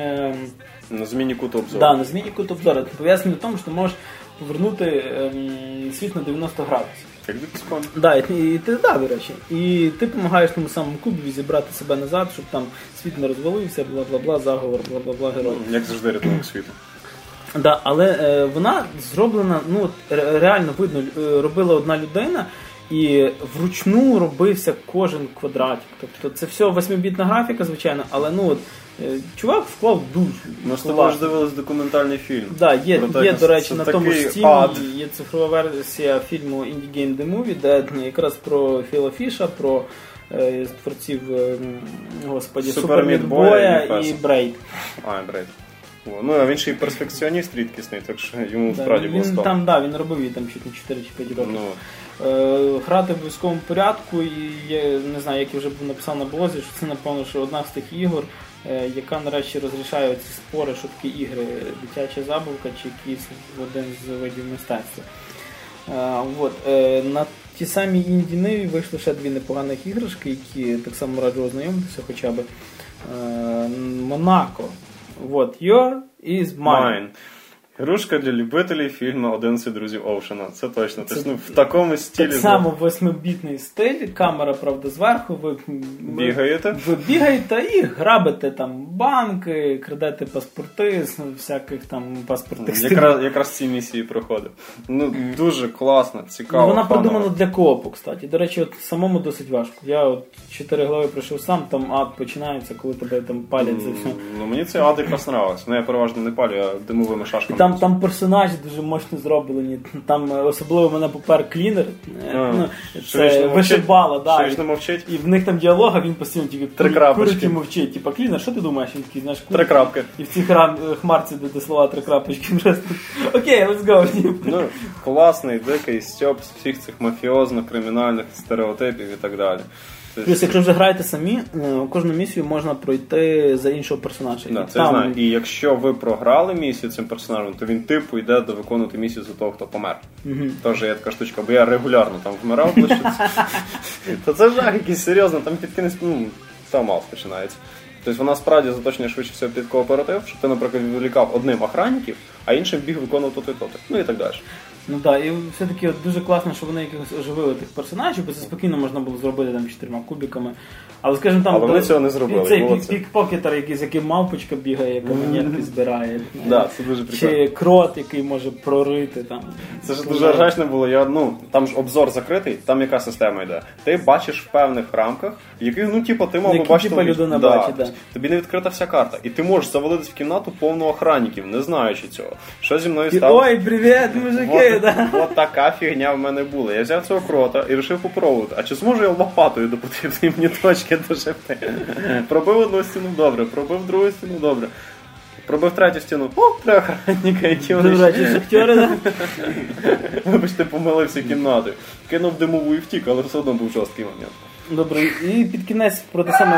Speaker 2: На зміні куту обзору.
Speaker 1: Так, на зміні куту обзору. Пов'язані в тому, що ти можеш повернути світ на 90 градусів.
Speaker 2: Як дикспон.
Speaker 1: До речі. І ти допомагаєш тому самому кубі зібрати себе назад, щоб там світ не розвалився, бла-бла-бла, заговор, бла-бла-бла, герой.
Speaker 2: Як завжди рятунок світу.
Speaker 1: Да, але вона зроблена, реально видно, робила одна людина, і вручну робився кожен квадратик. Тобто це все 8-бітна графіка, звичайно, але чувак вклав душу.
Speaker 2: Ми з тобою ж дивились документальний фільм.
Speaker 1: Так, є, до речі, на тому ж Steam є цифрова версія фільму Indie Game The Movie, де якраз про Філа Фіша, про творців, Super Meat Boy і Braid.
Speaker 2: Braid. А він ще й перфекціоніст рідкісний, так що йому справді було стало.
Speaker 1: Він робив її там чуть не 4 чи 5 років. Грати в обов'язковому порядку, і я не знаю, як я вже написав на блозі, що це, напевно, що одна з тих ігор, яка нарешті розрішає ці спори, що такі ігри, дитяча забавка чи якийсь один з видів мистецтва. На ті самі інді-ниві вийшли ще 2 непоганих іграшки, які так само раджу ознайомитися хоча б. Монако. Your is mine.
Speaker 2: Ігрушка для любителів фільму «11 друзів Оушена». Це точно. В такому стилі.
Speaker 1: Так само 8-бітний стиль, камера, правда, зверху. Ви бігаєте і грабите там банки, крадете паспорти з всяких там паспортних стилів.
Speaker 2: Якраз ці місії проходив. Дуже класно, цікаво.
Speaker 1: Вона придумана для коопу, кстати. До речі, самому досить важко. Я 4 глави пройшов сам, там ад починається, коли тебе там палять за все.
Speaker 2: Мені цей ад якраз нравився. Я переважно не палю, а димовими шашками.
Speaker 1: Там персонажі дуже мощно зроблені. Там особливо мене попер клінер. Це вишибало, да.
Speaker 2: Що мовчить?
Speaker 1: І в них там діалог, а він постійно тільки курить і мовчить. Типа клінер, що ти думаєш? Він такий, знаєш,
Speaker 2: 3 крапки.
Speaker 1: І в цій хмарці, де слова 3 крапочки. Окей, let's go.
Speaker 2: Класний, дикий стьоп з всіх цих мафіозно-кримінальних стереотипів і так далі.
Speaker 1: Плюс, якщо вже граєте самі, кожну місію можна пройти за іншого персонажа.
Speaker 2: Да, це знаю. І якщо ви програли місію цим персонажем, то він типу йде до виконувати місію за того, хто помер. Тож є така штучка, бо я регулярно там вмирав. То це жах якийсь серйозно, там під кінець, там мало починається. Тобто вона справді заточена швидше всього під кооператив, щоб ти, наприклад, відволікав одним охранників, а іншим біг виконувати то-то. Ну і так далі.
Speaker 1: Ну так, і все-таки дуже класно, що вони якихось оживили тих персонажів, бо це спокійно можна було зробити там 4 кубиками. Але, скажімо, там...
Speaker 2: Але вони цього не зробили.
Speaker 1: Цей пікпокетер, з яким мавпочка бігає, яка монетки збирає.
Speaker 2: Да, це дуже прикольно.
Speaker 1: Чи крот, який може прорити там.
Speaker 2: Це ж дуже ржачно було. Там ж обзор закритий, там яка система йде. Ти бачиш в певних рамках, яких, ти мав би бачити.
Speaker 1: Людина бачить, да.
Speaker 2: Тобі не відкрита вся карта. І ти можеш завалитись в кімнату повну охранників, не знаючи цього. Що зі мною стало?
Speaker 1: Ой, привіт, мужики!
Speaker 2: От така фігня в мене була. Я взяв цього крота і вирішив попробувати. А чи зможу я лопатою до потрібної мені точки дожити? Пробив одну стіну, добре. Пробив другу стіну, добре. Пробив третю стіну. О, 3 охранника, які вони
Speaker 1: ще. Шахтери, да?
Speaker 2: Вибачте, помилився кімнатою. Кинув димову і втік, але все одно був жорсткий момент.
Speaker 1: Добре, і під кінець про те саме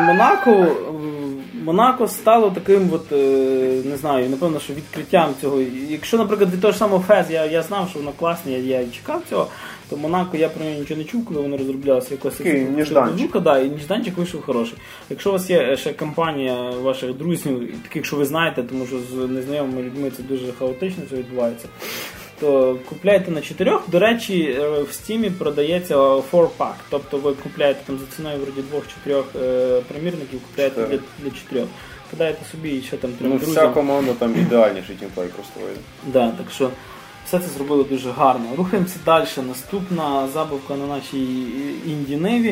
Speaker 1: Монако стало таким, не знаю, напевно, що відкриттям цього. Якщо, наприклад, від того ж самого Фез я знав, що воно класне, я чекав цього, то Монако я про нього нічого не чув, коли воно розроблялося якось.
Speaker 2: Ніжданчик.
Speaker 1: І ніжданчик вийшов хороший. Якщо у вас є ще компанія ваших друзів, таких, що ви знаєте, тому що з незнайомими людьми це дуже хаотично все відбувається, то купляйте на 4. До речі, в Steam продається 4-pack. Тобто ви купляєте там за ціною вроді 2-4 примірників, купляєте для 4. Кидаєте собі і ще там 3 друзів.
Speaker 2: Вся команда там ідеальніший тімплей просто вийде.
Speaker 1: Да, так що все це зробили дуже гарно. Рухаємося далі. Наступна забавка на нашій інді-неві.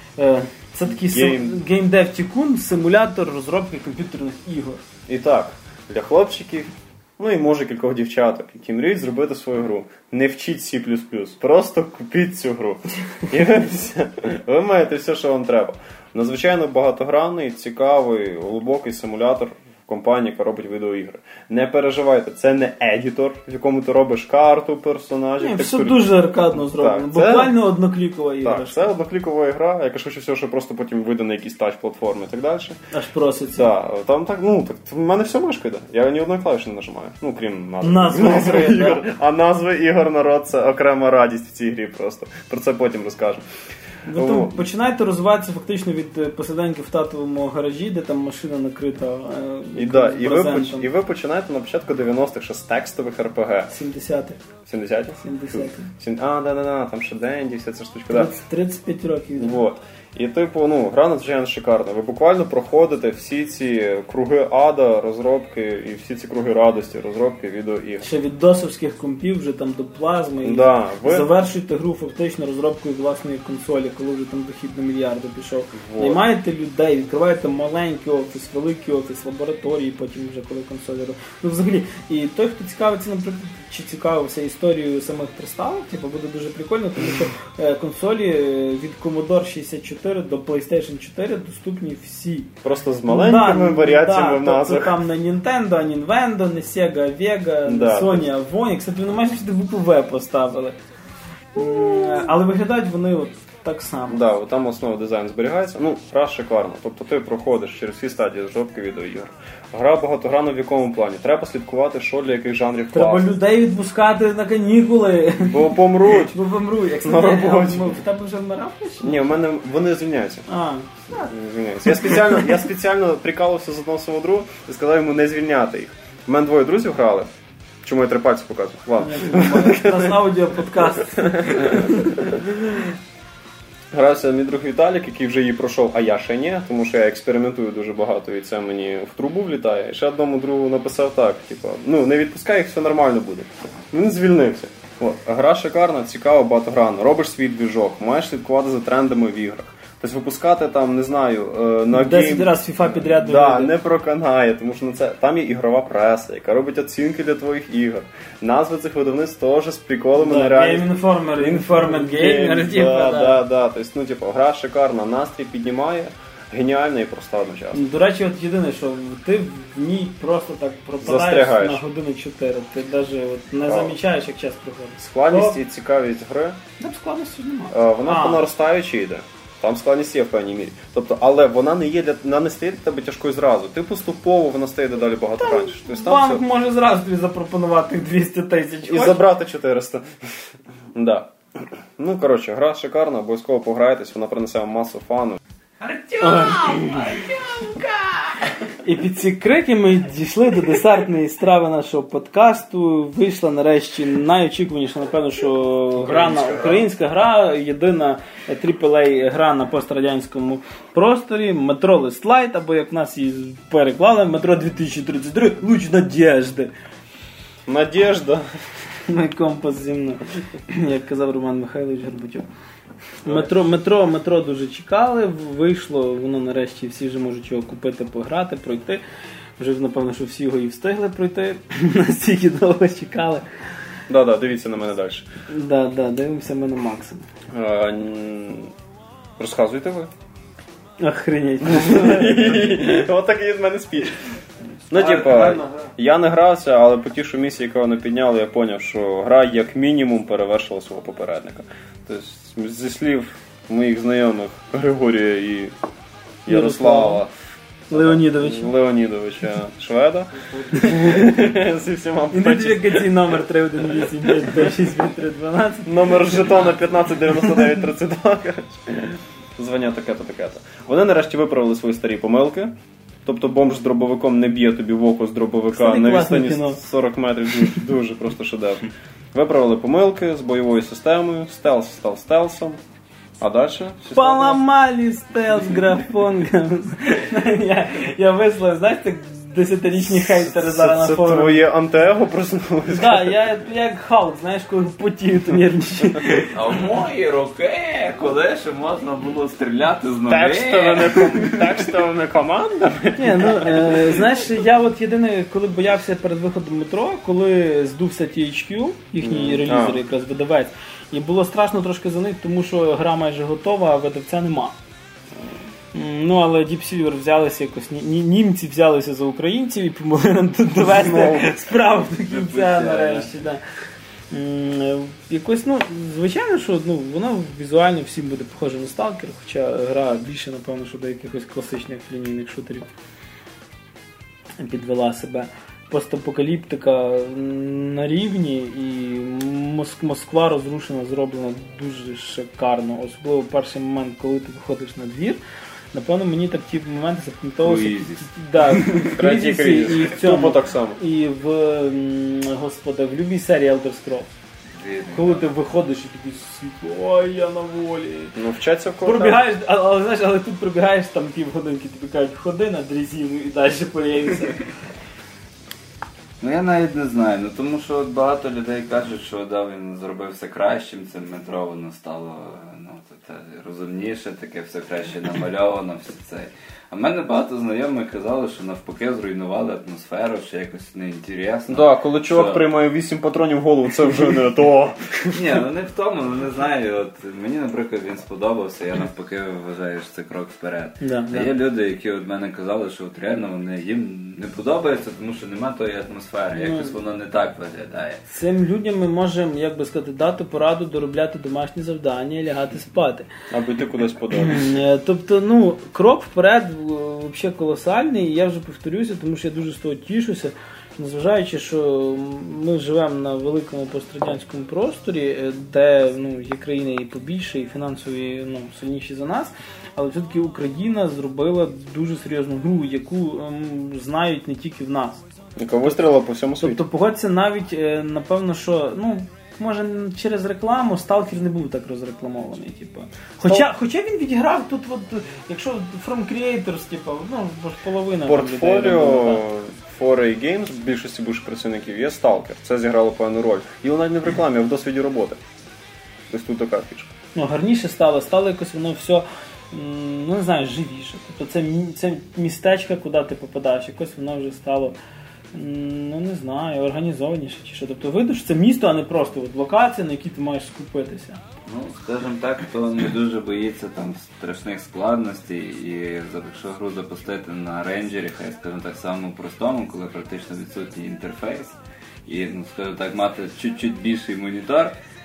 Speaker 1: Це такий Game Dev Tycoon, симулятор розробки комп'ютерних ігор.
Speaker 2: І так, для хлопчиків, і може кількох дівчаток, які мріють зробити свою гру. Не вчіть C++, просто купіть цю гру. І ви маєте все, що вам треба. Надзвичайно багатогранний, цікавий, глибокий симулятор компанії, яка робить відеоігри. Не переживайте, це не едітор, в якому ти робиш карту персонажів.
Speaker 1: Ні, все дуже аркадно зроблено. Буквально одноклікова ігра.
Speaker 2: Так, це одноклікова ігра, яка швидше всього, що просто потім вийде на якісь тач-платформи і так далі.
Speaker 1: Аж проситься.
Speaker 2: Так, там так, в мене все мишка йде. Я ні одної клавіші не нажимаю. Крім
Speaker 1: назви
Speaker 2: ігор. А назви ігор, народ, це окрема радість в цій грі просто. Про це потім розкажу.
Speaker 1: Ви там починаєте розвиватися фактично від посиденьки в татовому гаражі, де там машина накрита брезентом.
Speaker 2: І ви починаєте на початку 90-х ще з текстових РПГ.
Speaker 1: 70-х.
Speaker 2: 70-х? Да, там ще Денді, вся ця штучка.
Speaker 1: 35 років.
Speaker 2: Вот. І гра надзвичайно шикарна. Ви буквально проходите всі ці круги ада, розробки, і всі ці круги радості, розробки відеоігр.
Speaker 1: Ще від досовських компів вже там до плазми.
Speaker 2: Да,
Speaker 1: завершуєте гру фактично розробкою власної консолі, коли вже там дохід до мільярда пішов. Наймаєте людей, відкриваєте маленький офіс, великий офіс, лабораторії, потім вже коли консолі. Взагалі, і той, хто цікавиться, наприклад, чи цікавився історією самих приставок, буде дуже прикольно, тому що консолі від Commodore 64 до PlayStation 4 доступні всі.
Speaker 2: Просто з маленькими варіаціями в назвах.
Speaker 1: Тобто там не Nintendo, не Nintendo, не Sega, Vega, не Sony, Avoni. Кстати, вони майже сюди ВПВ поставили. Але виглядають вони так само.
Speaker 2: Да, там основа дизайн зберігається. Гра шикарна. Тобто ти проходиш через всі стадії розробки відеоігр. Гра багатогранна в якому плані? Треба слідкувати, що для яких жанрів класно.
Speaker 1: Треба людей відпускати на канікули.
Speaker 2: Бо помруть.
Speaker 1: На роботі. В тебе вже вмирав?
Speaker 2: Ні, в мене вони звільняються. Звільняються. Я спеціально прикалився з одного свого друга і сказав йому не звільняти їх. У мене 2 друзів грали. Чому я 3 пальці показую? Ладно.
Speaker 1: У нас аудіоподкаст.
Speaker 2: Грався мій друг Віталік, який вже її пройшов, а я ще ні, тому що я експериментую дуже багато і це мені в трубу влітає. І ще одному другу написав так, не відпускай їх, все нормально буде. Він звільнився. Гра шикарна, цікава, багатогранна. Робиш свій двіжок, маєш слідкувати за трендами в іграх. Тобто випускати там, не знаю, на
Speaker 1: 10 раз FIFA підряд
Speaker 2: не проканає, тому що там є ігрова преса, яка робить оцінки для твоїх ігор. Назви цих видавництв теж з приколами на реальність.
Speaker 1: Game Informer, Informant Gamer.
Speaker 2: Тобто, гра шикарна, настрій піднімає, геніальна і проста одночасно.
Speaker 1: До речі, єдине, що ти в ній просто так пропадаєш на години 4. Ти навіть не замічаєш, як час проходить.
Speaker 2: Складність і цікавість гри.
Speaker 1: Складності ж немає.
Speaker 2: Вона по наростаючій йде. Там складність є в певній мірі. Тобто, але вона не стає для тебе тяжкою зразу. Ти поступово вона стає дедалі багато раніше.
Speaker 1: Тобто, банк може зразу тобі запропонувати 200 тисяч.
Speaker 2: І забрати 400. Да. Ну, коротше, гра шикарна, обов'язково пограйтесь, вона принесе вам масу фану.
Speaker 1: Артемка! І під ці крики ми дійшли до десертної страви нашого подкасту. Вийшла нарешті найочікуваніша, напевно, що українська гра, єдина AAA гра на пострадянському просторі, Metro Last Light, або як нас її переклали, Metro 2033, Луч Надєжди.
Speaker 2: Надєжда.
Speaker 1: Мій компас зі мною, як казав Роман Михайлович Горбатюк. Метро дуже чекали, вийшло, воно нарешті всі вже можуть його купити, пограти, пройти. Вже, напевно, що всі його і встигли пройти, настільки довго чекали.
Speaker 2: Да, дивіться на мене далі.
Speaker 1: Да, дивимося ми на Макса.
Speaker 2: Розказуйте ви.
Speaker 1: Охренеть.
Speaker 2: Ось такий від мене спіч. Ну, типа, я не грався, але по тій місії, яку вони підняли, я зрозумів, що гра як мінімум перевершила свого попередника. Тобто, зі слів моїх знайомих Григорія і Ярослава Леонідовича Шведа. Зі всіма
Speaker 1: ідентифікаційний номер 318565312.
Speaker 2: Номер жетона 159932. Звання таке-то. Вони нарешті виправили свої старі помилки. Тобто бомж з дробовиком не б'є тобі в око з дробовика на відстані 40 метрів. Дуже просто шедевр. Виправили помилки з бойовою системою, стелс став стелсом. А далі?
Speaker 1: Поламали стелс графонгом. Я вислав, знаєш, так 10-річні хейтери зараз на форумі.
Speaker 2: Це твоє антиего проснулося?
Speaker 1: Так, я як Халк, знаєш, коли потію, то нервничаю.
Speaker 3: А в мої роки, коли ще можна було стріляти з ноги.
Speaker 2: Текстовими командами?
Speaker 1: Ні, ну, знаєш, я от єдине, коли боявся перед виходом метро, коли здувся THQ, їхній релізер якраз видавець, і було страшно трошки за них, тому що гра майже готова, а видавця нема. Ну, але Deep Silver взялися якось, німці взялися за українців і помогли нам тут довести справу до кінця нарешті. Да. Якось, ну, звичайно, що воно візуально всім буде похоже на Stalker, хоча гра більше, напевно, що до якихось класичних лінійних шутерів підвела себе. Постапокаліптика на рівні, і Москва розрушена, зроблена дуже шикарно. Особливо перший момент, коли ти виходиш на двір. Напевно, мені так ті моменти запам'ятовувалися. В Кризісі і в цьому.
Speaker 2: Так само.
Speaker 1: І в любій серії Elder Scrolls. Коли ти виходиш і такий світло, ой, я на волі.
Speaker 2: Ну, вчаться в кого.
Speaker 1: Пробігаєш, але тут пробігаєш там півгодинки, тобі кажуть, ходи на дрезину і далі появиться.
Speaker 3: Ну я навіть не знаю, ну тому що от багато людей кажуть, що він зробив все кращим, це метро воно стало розумніше, таке все краще намальовано, все це. А в мене багато знайомих казали, що навпаки зруйнували атмосферу, що якось неінтересно.
Speaker 2: Так, коли чувак приймає 8 патронів в голову, це вже не то.
Speaker 3: Ні, ну не в тому, не знаю. От мені, наприклад, він сподобався, я навпаки вважаю, що це крок вперед. А є люди, які від мене казали, що от реально їм не подобається, тому що немає тої атмосфери, якось воно не так виглядає.
Speaker 1: Цим людям ми можемо, як би сказати, дати пораду доробляти домашні завдання і лягати спати.
Speaker 2: Або йти кудись подобається.
Speaker 1: Тобто, крок вперед взагалі колосальний, і я вже повторюся, тому що я дуже з того тішуся, незважаючи, що ми живемо на великому пострадянському просторі, де є країни і побільше, і фінансові сильніші за нас, але все-таки Україна зробила дуже серйозну гру, яку знають не тільки в нас.
Speaker 2: Яка вистрілила по всьому світі.
Speaker 1: Тобто, погодься, навіть, напевно, що, може, через рекламу Stalker не був так розрекламований, Хоча він відіграв тут, якщо From Creators, половина.
Speaker 2: Портфоліо 4A Games, в більшості бувших працівників, є Stalker. Це зіграло певну роль. І навіть не в рекламі, а в досвіді роботи. Тобто тут така фішка.
Speaker 1: Гарніше стало якось воно все, не знаю, живіше. Тобто це містечко, куди ти попадаєш, якось воно вже стало, не знаю, організованіше чи що. Тобто видно, що це місто, а не просто локація, на якій ти маєш скупитися.
Speaker 3: Скажімо так, хто не дуже боїться там страшних складностей, і якщо гру запустити на рейнджері, хай, скажімо так, самому простому, коли практично відсутній інтерфейс, і, скажімо так, мати чуть-чуть більший монітор,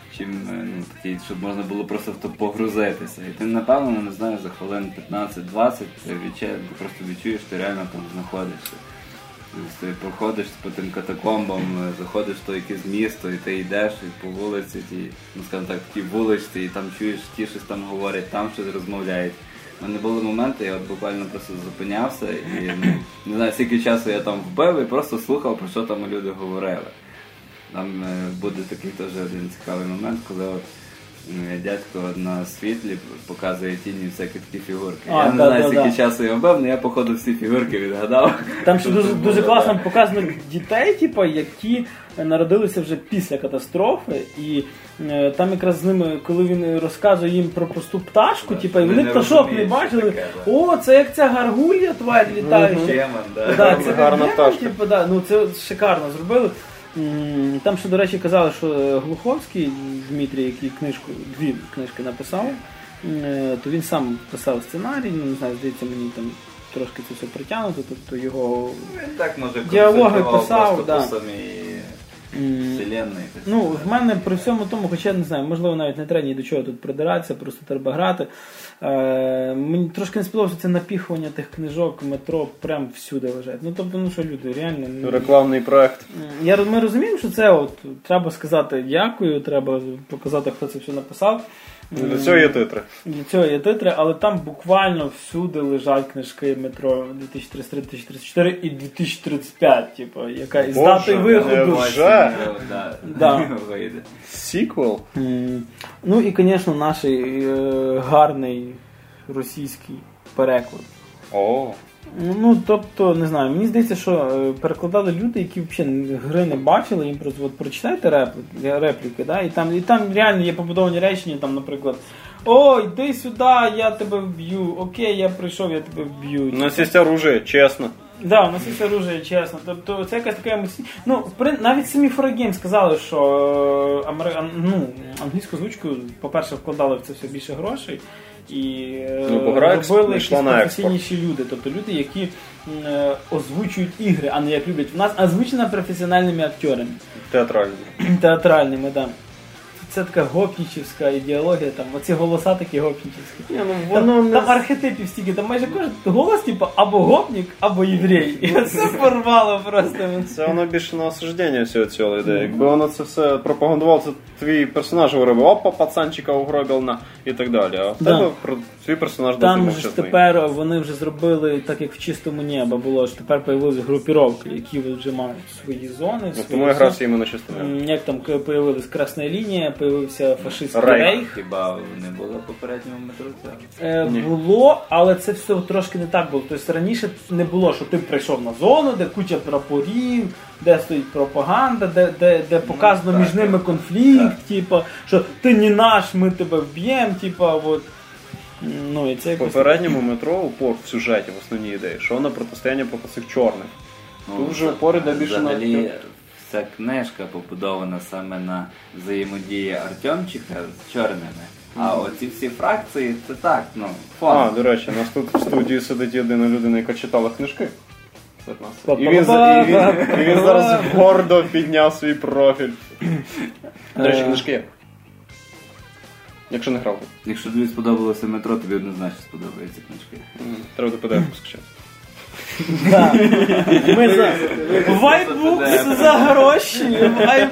Speaker 3: такий, щоб можна було просто в то погрузитися. І ти, напевно, не знаю, за хвилин 15-20 ти просто відчуєш, що ти реально там знаходишся. Ти проходиш по тим катакомбам, заходиш в то якесь місто, і ти йдеш і по вулиці, скажімо так, такій вуличці, і там чуєш, ті щось там говорять, там щось розмовляють. У мене були моменти, я буквально просто зупинявся і не знаю, скільки часу я там вбив і просто слухав, про що там люди говорили. Там буде такий теж один цікавий момент, коли дядько на світлі показує тіні всякі такі фігурки. Я не знаю, скільки часу я вбив, але я, походу, всі фігурки відгадав.
Speaker 1: Там ще дуже класно показано дітей, які народилися вже після катастрофи, і там якраз з ними, коли він розказує їм про просту пташку, і вони пташок не бачили, це як ця гаргулья тварь літаюча.
Speaker 2: Це гарна пташка.
Speaker 1: Це шикарно зробили. Там ще, до речі, казали, що Глуховський Дмитрій, який дві книжки написав, то він сам писав сценарій, не знаю, здається, мені там трошки це все притягнуто, тобто його діалоги писав,
Speaker 3: по самій вселенной.
Speaker 1: В мене при всьому тому, хоча не знаю, можливо навіть не треба ні до чого тут придиратися, просто треба грати. Мені трошки не сподобалося це напіхування тих книжок, метро прям всюди лежать. Тобто, що люди, реально...
Speaker 2: Рекламний проект.
Speaker 1: Ми розуміємо, що це треба сказати дякую, треба показати, хто це все написав.
Speaker 2: Для цього є титри. Але там буквально всюди лежать книжки метро 2033, 2034 і 2035, яка із датою виходу. Сіквел?
Speaker 1: І, звісно, наш гарний російський переклад. Тобто, не знаю, мені здається, що перекладали люди, які взагалі гри не бачили, їм просто прочитайте репліки, і там реально є побудовані речення, там, наприклад, йди сюди, я тебе вб'ю, окей, я прийшов, я тебе вб'ю.
Speaker 2: У нас є оружие, чесно.
Speaker 1: У нас є оружие, чесно. Тобто це якась така емоційна... навіть самі 4A сказали, що англійську озвучку, по-перше, вкладали в це все більше грошей, і робили якісь професійніші люди, тобто люди, які озвучують ігри, а не як люблять. У нас озвучена професіональними акторами. Театральними, так. Це така гопнічівська ідеологія, там оці голоса такі гопнічівські. Там архетипів стільки, там майже кожен голос або гопнік, або єврей. І це порвало просто.
Speaker 2: Це воно більше на осуждення всього цього йде. Якби воно це все пропагандувало, це твій персонаж говорив, опа, пацанчика угробив і так далі. А в тебе твій персонаж досить мовчазний.
Speaker 1: Там тепер вони вже зробили, так як в Чистому небі було, що тепер появилися групіровки, які вже мають свої зони.
Speaker 2: Тому я грався іменно Чистому небі.
Speaker 1: Як там появилась Красна лінія, появився фашистський рейх.
Speaker 3: Хіба не було в попередньому метро?
Speaker 1: Було, але це все трошки не так було. Тобто раніше не було, що ти прийшов на зону, де куча прапорів, де стоїть пропаганда, де показано між ними конфлікт, що ти не наш, ми тебе вб'ємо,
Speaker 2: В попередньому метро упор в сюжеті, в основній ідеї, що воно протистояння проти цих чорних. Тут вже упор іде більше на...
Speaker 3: Ця книжка побудована саме на взаємодії Артемчика з чорними. А оці всі фракції, це так, фон.
Speaker 2: До речі, у нас тут в студії сидить єдина людина, яка читала книжки. І він зараз гордо підняв свій профіль. До речі, книжки є. Якщо не грав.
Speaker 3: Якщо тобі сподобалося метро, тобі однозначно сподобаються книжки.
Speaker 2: Треба до PDF скачати.
Speaker 1: Ми за Вайтбукс за гроші.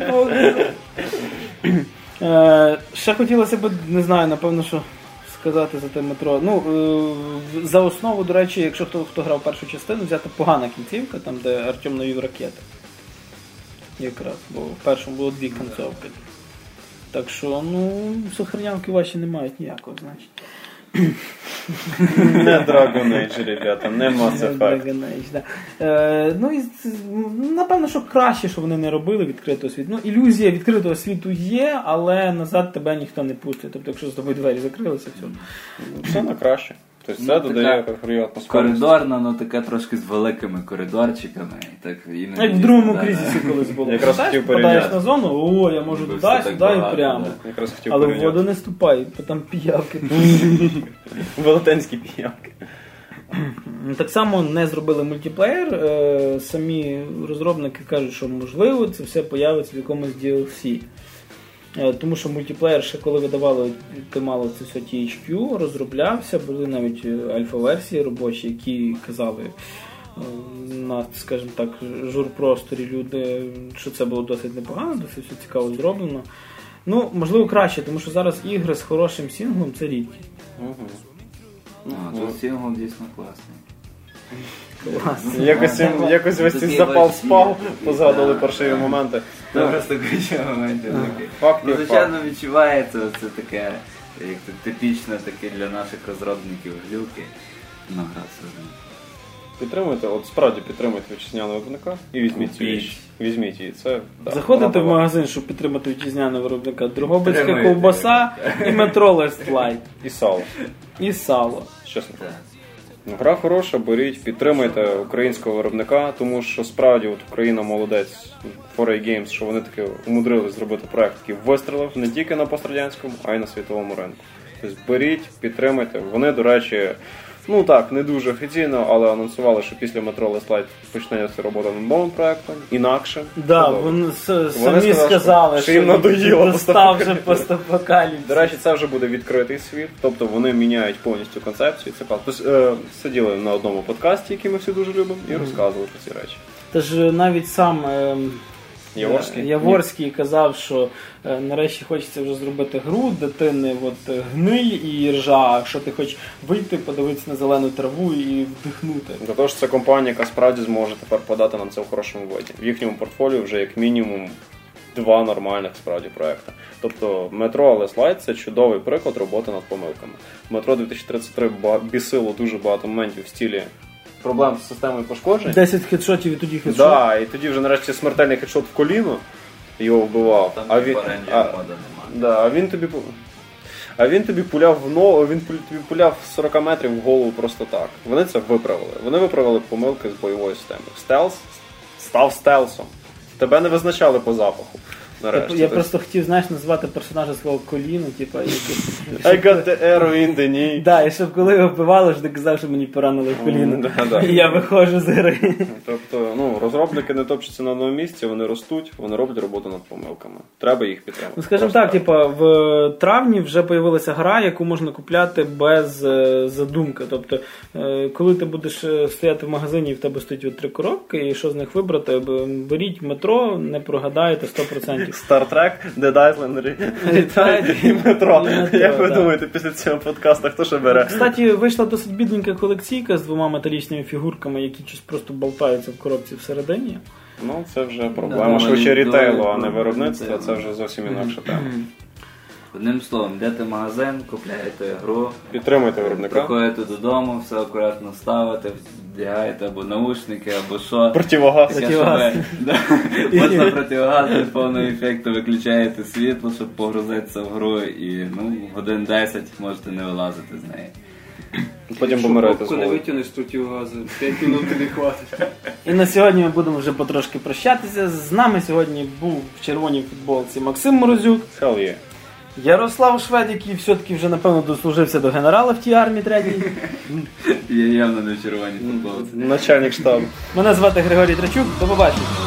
Speaker 1: Ще хотілося б, не знаю, напевно, що сказати за те метро. За основу, до речі, якщо хто грав першу частину, взяти погана кінцівка, там де Артем навів ракети. Якраз, бо в першому було 2 кінцовки. Так що, сохранявки ваші не мають ніякого значення.
Speaker 2: Не Dragon Age, ребята, не Mass Effect.
Speaker 1: Dragon Age, да. Напевно, що краще, що вони не робили відкритого світу. Ілюзія відкритого світу є, але назад тебе ніхто не пустить. Тобто, якщо з тобою двері закрилися, все.
Speaker 2: Все на краще. Тобто це додає грі атмосферу.
Speaker 3: Коридорна, така трошки з великими коридорчиками.
Speaker 1: Як в другому кризисі колись було.
Speaker 2: Якраз хотів порівняти.
Speaker 1: Подаєш на зону, я можу туди, сюди і прямо. Але в воду не ступай, бо там піявки.
Speaker 2: Велетенські піявки.
Speaker 1: Так само не зробили мультиплеєр. Самі розробники кажуть, що можливо це все появиться в якомусь DLC. Тому що мультиплеєр ще коли видавали, мало це все THQ, розроблявся, були навіть альфа-версії робочі, які казали на, скажімо так, журпросторі люди, що це було досить непогано, досить все цікаво зроблено. Ну, можливо, краще, тому що зараз ігри з хорошим сінглом – це рідкі.
Speaker 3: Тут сінгл дійсно класний.
Speaker 2: Якось весь цей запал спав, позгадували паршиві моменти.
Speaker 3: Просто ключові моменти. Звичайно, відчувається це таке, як типічне таке для наших розробників глюки.
Speaker 2: Підтримуйте, от справді підтримуйте вітчизняного виробника і візьміть цю річ. Візьміть її. Це,
Speaker 1: заходите в магазин, щоб підтримати вітчизняного виробника. Дрогобицька ковбаса і метро Last Light.
Speaker 2: І сало. Чесно. Гра хороша, беріть, підтримуйте українського виробника, тому що справді от Україна молодець, 4A Games, що вони таки умудрились зробити проект, який вистрілив не тільки на пострадянському, а й на світовому ринку. Тобто беріть, підтримуйте. Вони, до речі, ну так, не дуже офіційно, але анонсували, що після Metro Last Light почнеться робота над новим проектом, інакшим.
Speaker 1: Да, вони самі сказали,
Speaker 2: що їм надоїло
Speaker 1: достав вже постапокаліпсис.
Speaker 2: До речі, це вже буде відкритий світ, тобто вони міняють повністю концепцію. Це тобто, сиділи на одному подкасті, який ми всі дуже любимо, і розказували про ці речі.
Speaker 1: Тож навіть сам Яворський казав, що нарешті хочеться вже зробити гру, де ти не гниль і ржа, а що ти хочеш вийти, подивитися на зелену траву і вдихнути.
Speaker 2: Для того, що це компанія, яка справді зможе тепер подати нам це в хорошому виді. В їхньому портфоліо вже як мінімум 2 нормальних справді проекти. Тобто Metro Last Light – це чудовий приклад роботи над помилками. Metro 2033 бісило дуже багато моментів в стилі проблем з системою пошкоджень.
Speaker 1: 10 хедшотів і тоді хедшот.
Speaker 2: Да, і тоді вже нарешті смертельний хедшот в коліно його вбивав. А він тобі пуляв в ногу, він тобі пуляв 40 метрів в голову просто так. Вони це виправили. Вони виправили помилки з бойовою системою. Стелс став стелсом. Тебе не визначали по запаху.
Speaker 1: Я просто хотів, знаєш, назвати персонажа свого коліна, типа
Speaker 2: I got the arrow in the knee.
Speaker 1: Да, і щоб коли його вбивали, ж ти казав, що мені поранили в коліно. І я виходжу з гри.
Speaker 2: Тобто, розробники не топчуться на одному місці, вони ростуть, вони роблять роботу над помилками. Треба їх підтримати.
Speaker 1: Ну, скажімо так, в травні вже появилася гра, яку можна купляти без задумки. Тобто, коли ти будеш стояти в магазині і в тебе стоять 3 коробки, і що з них вибрати, беріть метро, не прогадаєте 100%.
Speaker 2: Star Trek, Dead Island, Retide і Метро. Як ви думаєте, після цього подкасту хто ще бере?
Speaker 1: Кстати, вийшла досить бідненька колекційка з 2 металічними фігурками, які щось просто болтаються в коробці всередині.
Speaker 2: Ну, це вже проблема швидше рітейлу, а не виробництва, це вже зовсім інакша тема.
Speaker 3: Одним словом, йдете в магазин, купляєте гру,
Speaker 2: підтримуйте виробника,
Speaker 3: приходите додому, все акуратно ставите, вдягаєте або наушники, або що.
Speaker 2: Противогаз.
Speaker 3: Можна противогаз, без повного ефекту виключаєте світло, щоб погрузитися в гру, і годин 10 можете не вилазити з неї.
Speaker 2: Потім помираєте з
Speaker 4: голову. Коли витягнеш противогазу, 5 минут не хватить.
Speaker 1: І на сьогодні ми будемо вже потрошки прощатися. З нами сьогодні був в червоній футболці Максим Морозюк.
Speaker 2: Hell yeah.
Speaker 1: Ярослав Швед, який все-таки вже, напевно, дослужився до генерала в тій армії 3-й.
Speaker 3: Я явно не в червоній футболці.
Speaker 2: Начальник штабу.
Speaker 1: Мене звати Григорій Трачук. До побачення.